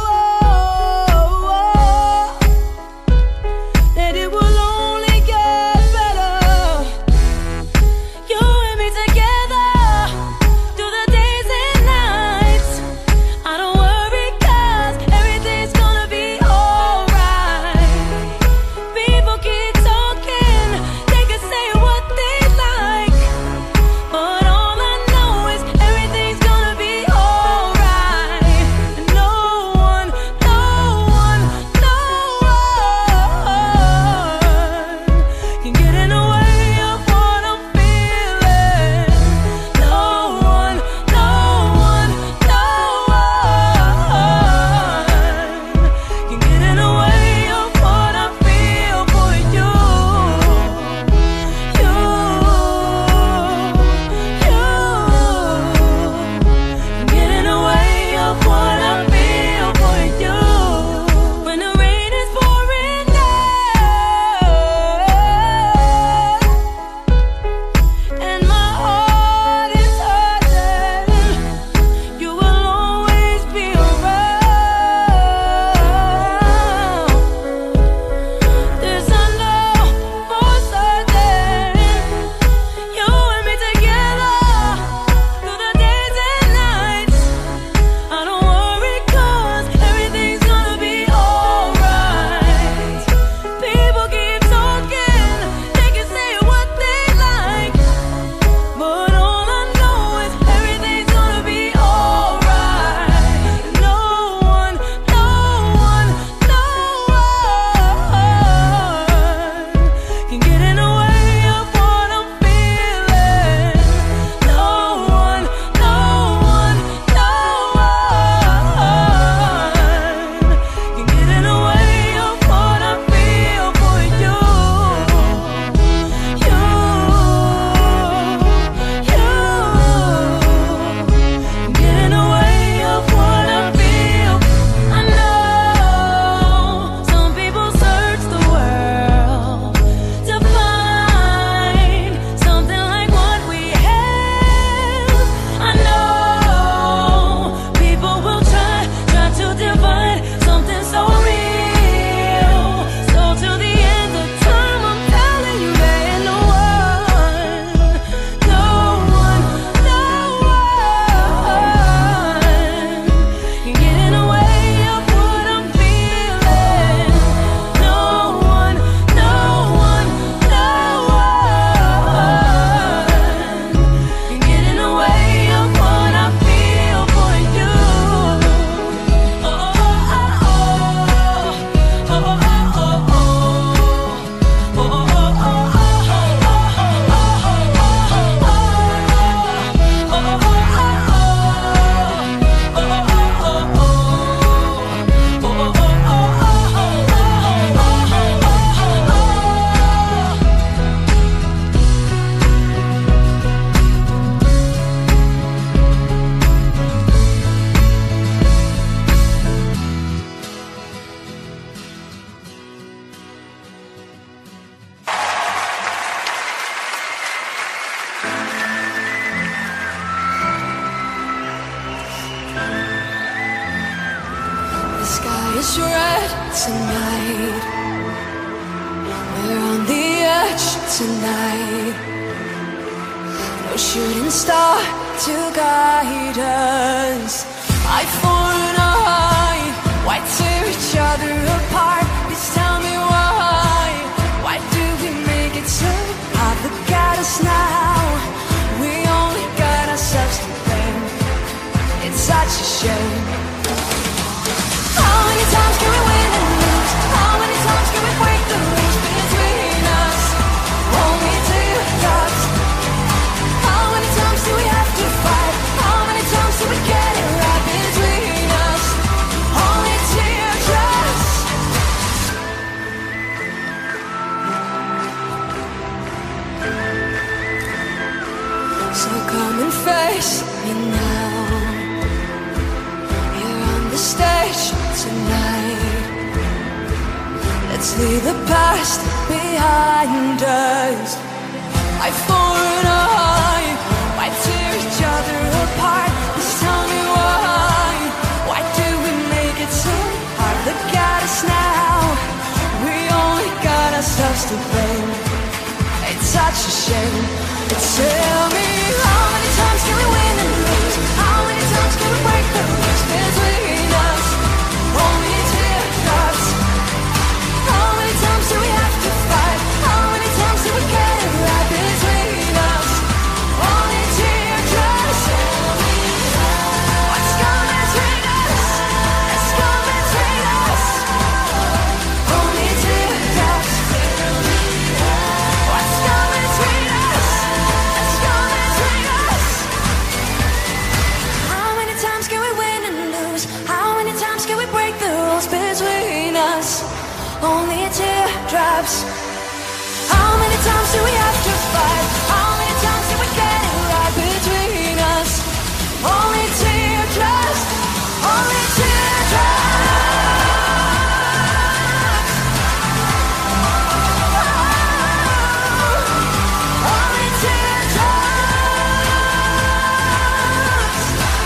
that it will only get better. You and me together through the days and nights. I don't worry 'cause everything's gonna be alright. People keep talking, they can say what they like, but all I know is everything's gonna be alright. No one can get in the way of what I'm feeling. No one can get in the way of what I feel for you. You can get in the way of what I feel for you. When the rain is pouring down and my heart is hurting, you will always be around. This I know for certain. You and me together through the days and nights. I don't worry 'cause everything's gonna be alright. People keep talking, they can say what they like, but all I know is everything's gonna be alright. No one can get in the way of what I'm feeling. No one can get in the way of what I feel for you. You can get in the way of what I feel. I know some people search the world to find something like what we have. I know people will try to divide something so real. So till the end of time, I'm telling you there ain't no one can get in the way of what I'm feeling. No one can get in the way of what I feel for you. The sky is red tonight. We're on the edge tonight. No shooting star to guide us. Eye for an eye, why tear each other apart? us now. We only got ourselves to blame. It's such a shame. How many times can we win and lose? How many times can we break the rules between us? Only teardrops. How many times do we have to fight? How many times do we get it right between us? Only teardrops. So come and face me now. You're on the stage tonight. Let's leave the past behind us. I've fallen high. Why tear each other apart? Just tell me why. Why do we make it so hard? Look at us now. We only got ourselves to blame. It's such a shame. Tell me, how many times can we win and lose? How many times can we break the rules between us? Only teardrops. How many times do we have to fight? How many times do we get it right between us? Only teardrops. What's gonna between us? It's gonna between us. Only teardrops. What's gonna between us? It's gonna between us. How many times can we win and lose? How many times can we break the rules between us? Only teardrops. How many times do we have to fight? How many times do we get it right between us? Only teardrops. Only teardrops. Only teardrops.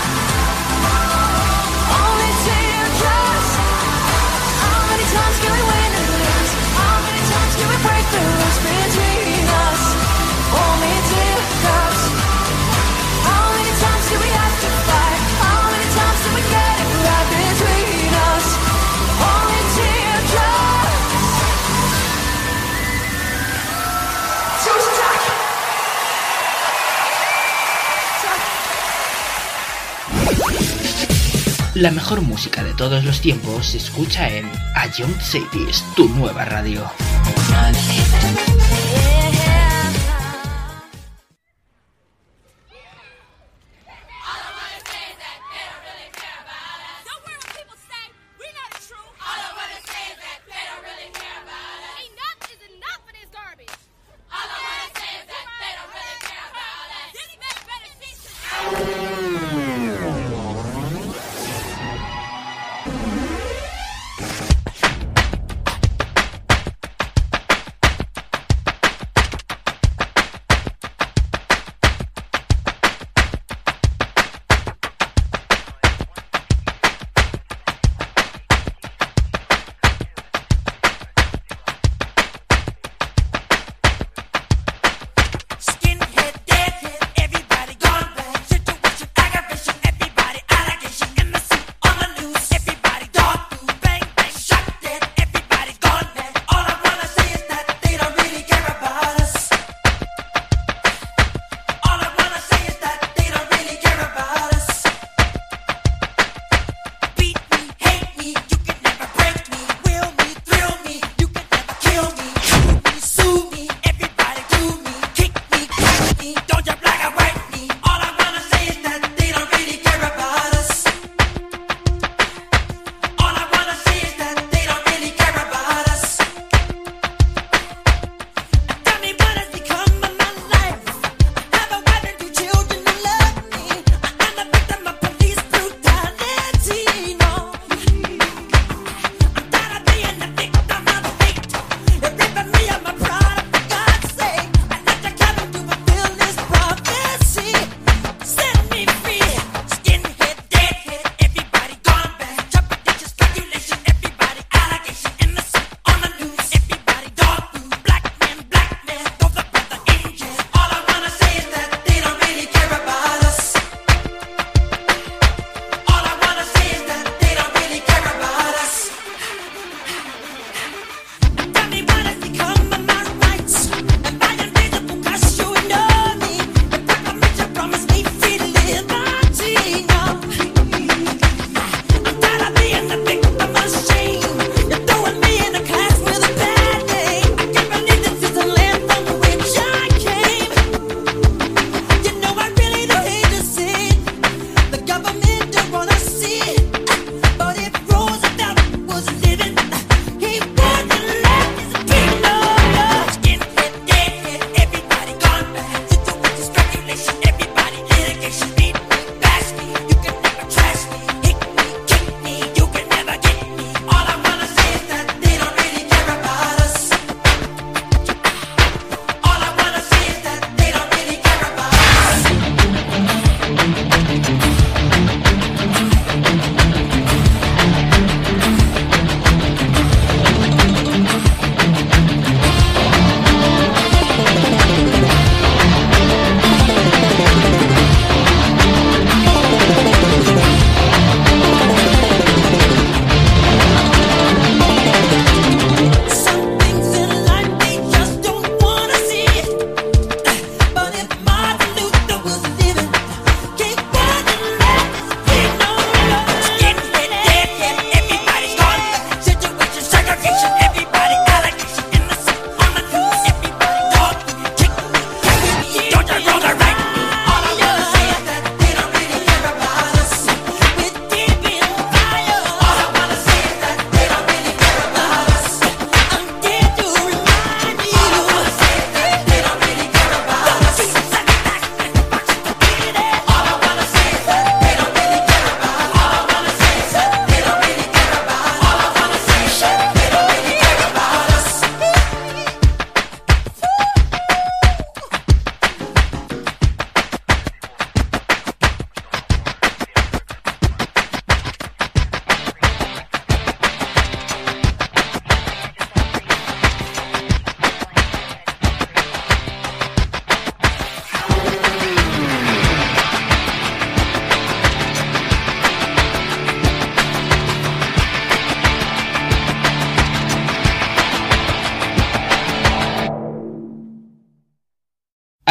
Only teardrops. How many times can we win and lose? How many times can we break the rules between us? Only teardrops. How many times do we have to fight? How many times do we get it right between us? Only teardrops. La mejor música de todos los tiempos se escucha en A Young Cities, tu nueva radio.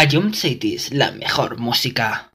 Ion Cities, la mejor música.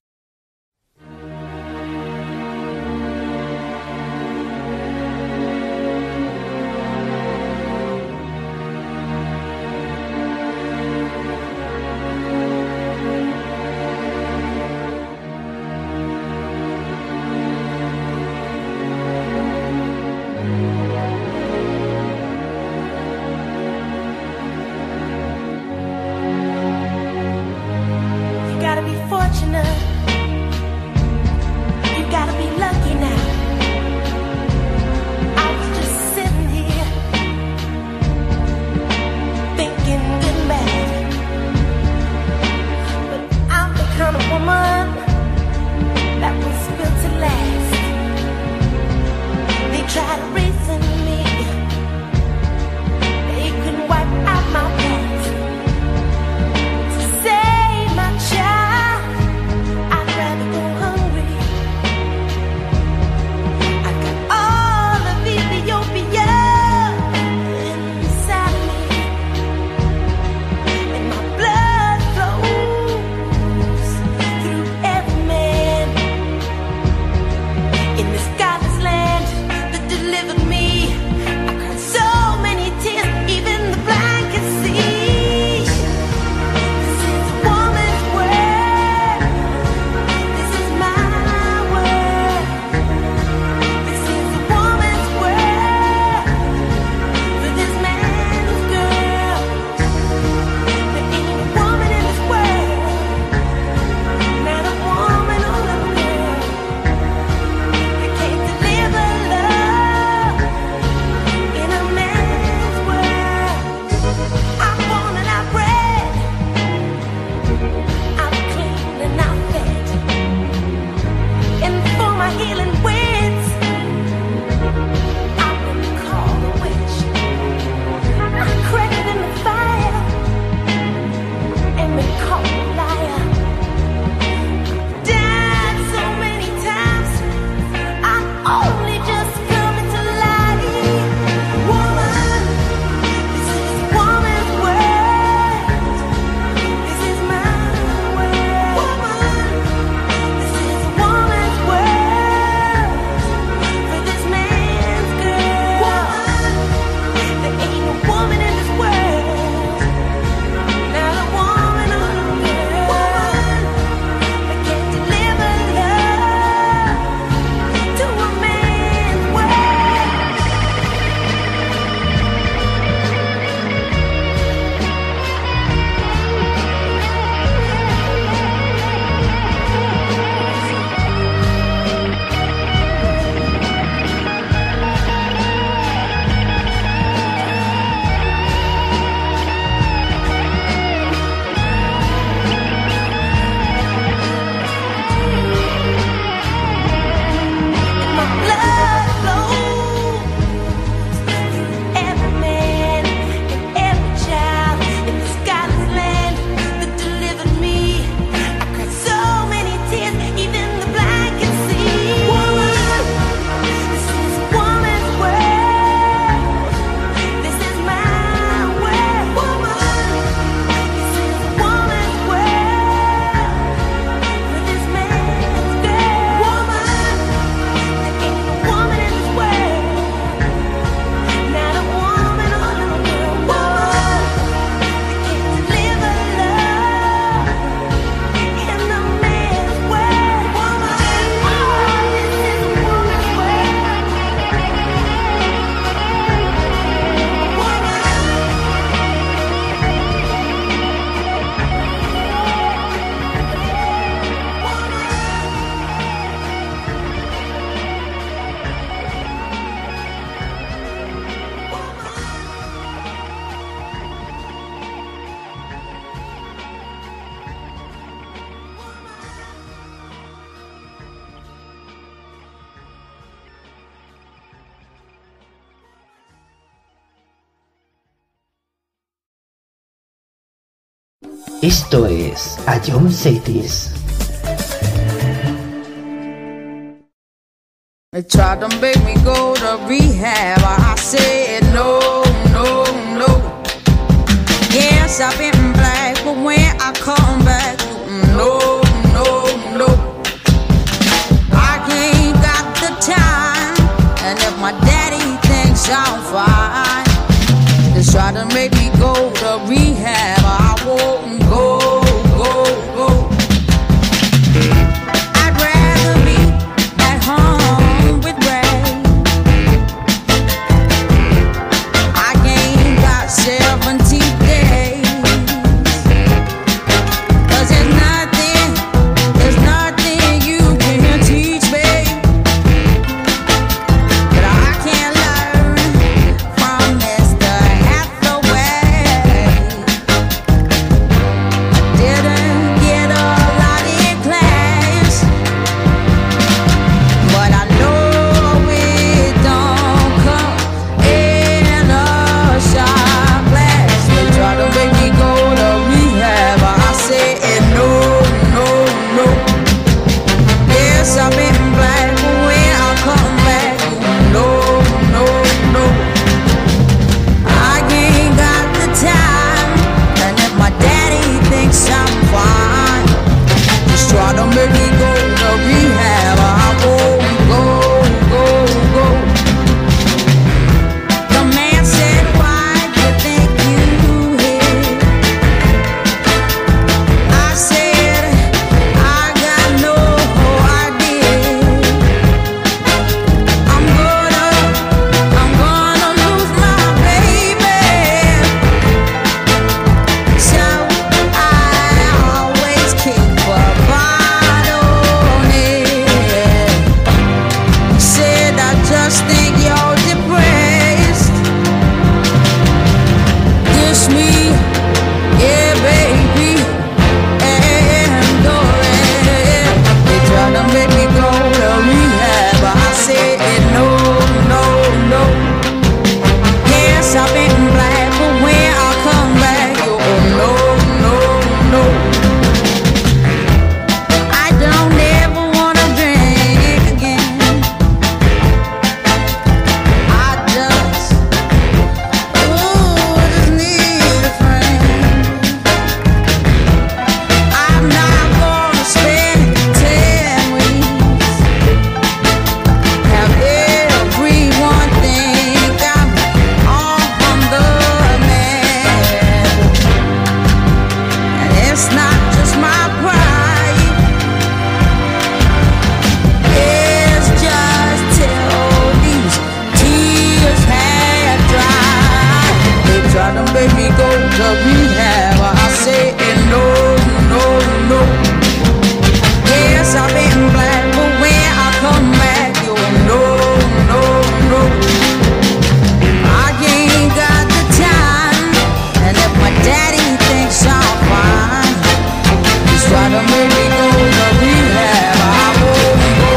Esto es Ion Cities. They tried to make me go to rehab. I said no, no, no. Yes, I've been black, but when I come back must think you're depressed. Dish me, yeah, baby, and go ahead. They try to make me go to rehab, but I said no, no, no. Yes, I've been black, but when I come back, you're no, no, no. I don't ever wanna drink again. I just need a friend. I'm not gonna spend 10 weeks. Have everyone think I'm on the man. And it's not just my pride. It's just till these tears have dried. They try to make me go to rehab. I say no, no, no. Yes, I've been black, but when I come back, you're no, no, no. I ain't got the time, and if my daddy thinks I'm fine, he's trying to make me go to rehab. I won't go.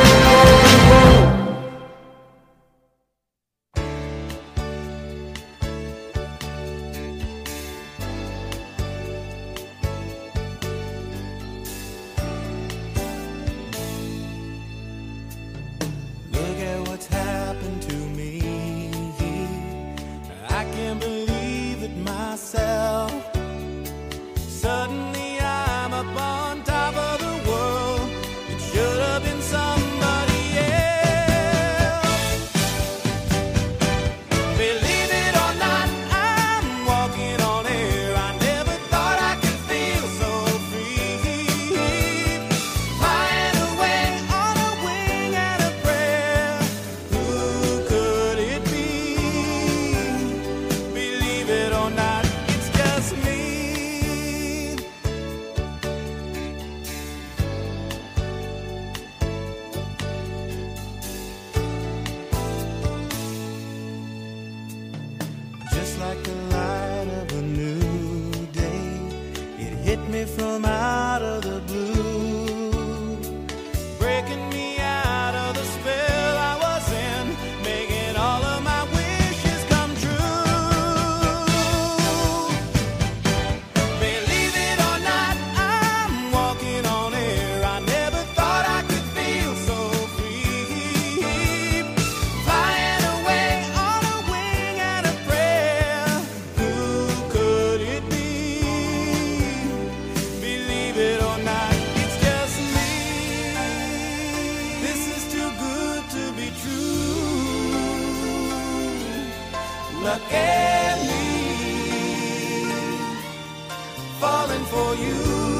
Look at what's happened to me. I can't believe it myself. Suddenly I'm up on top of the world. It should have been somebody else. Believe it or not, I'm walking on air. I never thought I could feel so free. Flying away on a wing and a prayer. Who could it be? Believe it or not, it's just me. Just like the light of a new day, it hit me from out of the blue, breaking me out of the spell I was in, making all of my wishes come true. Believe it or not, I'm walking on air. I never thought I could feel so free. Flying away on a wing and a prayer. Who could it be? Believe it or not, it's just me. This is too good to be true. Look at me, falling for you.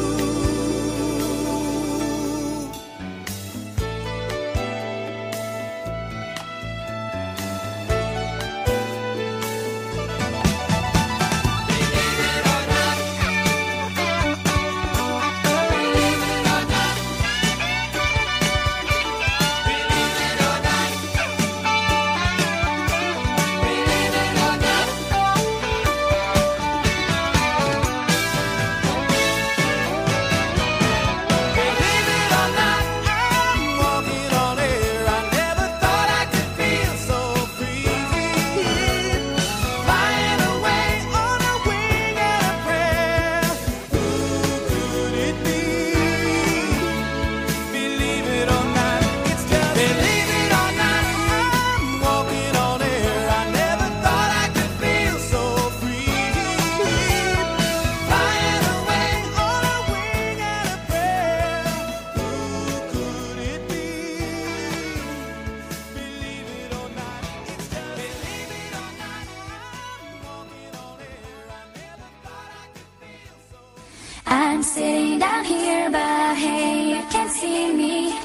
I'm sitting down here, but hey, you can see me.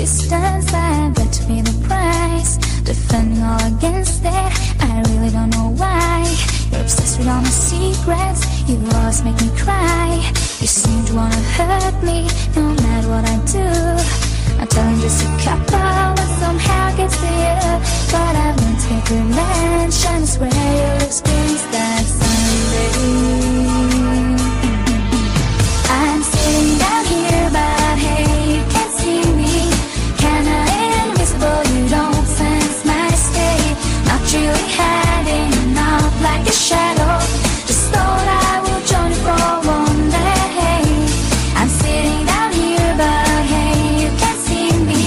distance. I've got to pay the price, defending all against it. I really don't know why. You're obsessed with all my secrets. You always make me cry. You seem to wanna hurt me, no matter what I do. I'm telling just a couple, but somehow gets to you. But I've learned to get revenge, and I swear you'll experience that someday. I'm sitting down here, but hey, you can't see me. Kinda invisible, you don't sense my state. Not really hiding out like a shadow. Just thought I would join you for one day. I'm sitting down here, but hey, you can't see me.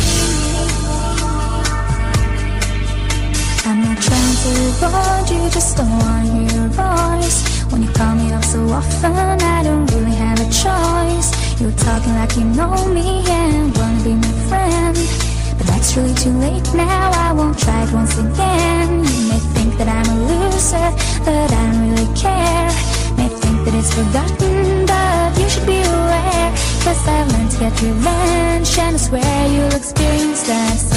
I'm not trying to avoid you, just don't want to hear your voice. When you call me up so often, I don't really have a choice. You're talking like you know me and wanna be my friend, but that's really too late now. I won't try it once again. You may think that I'm a loser, but I don't really care. May think that it's forgotten, but you should be aware. 'Cause I've learned to get revenge, and I swear you'll experience that.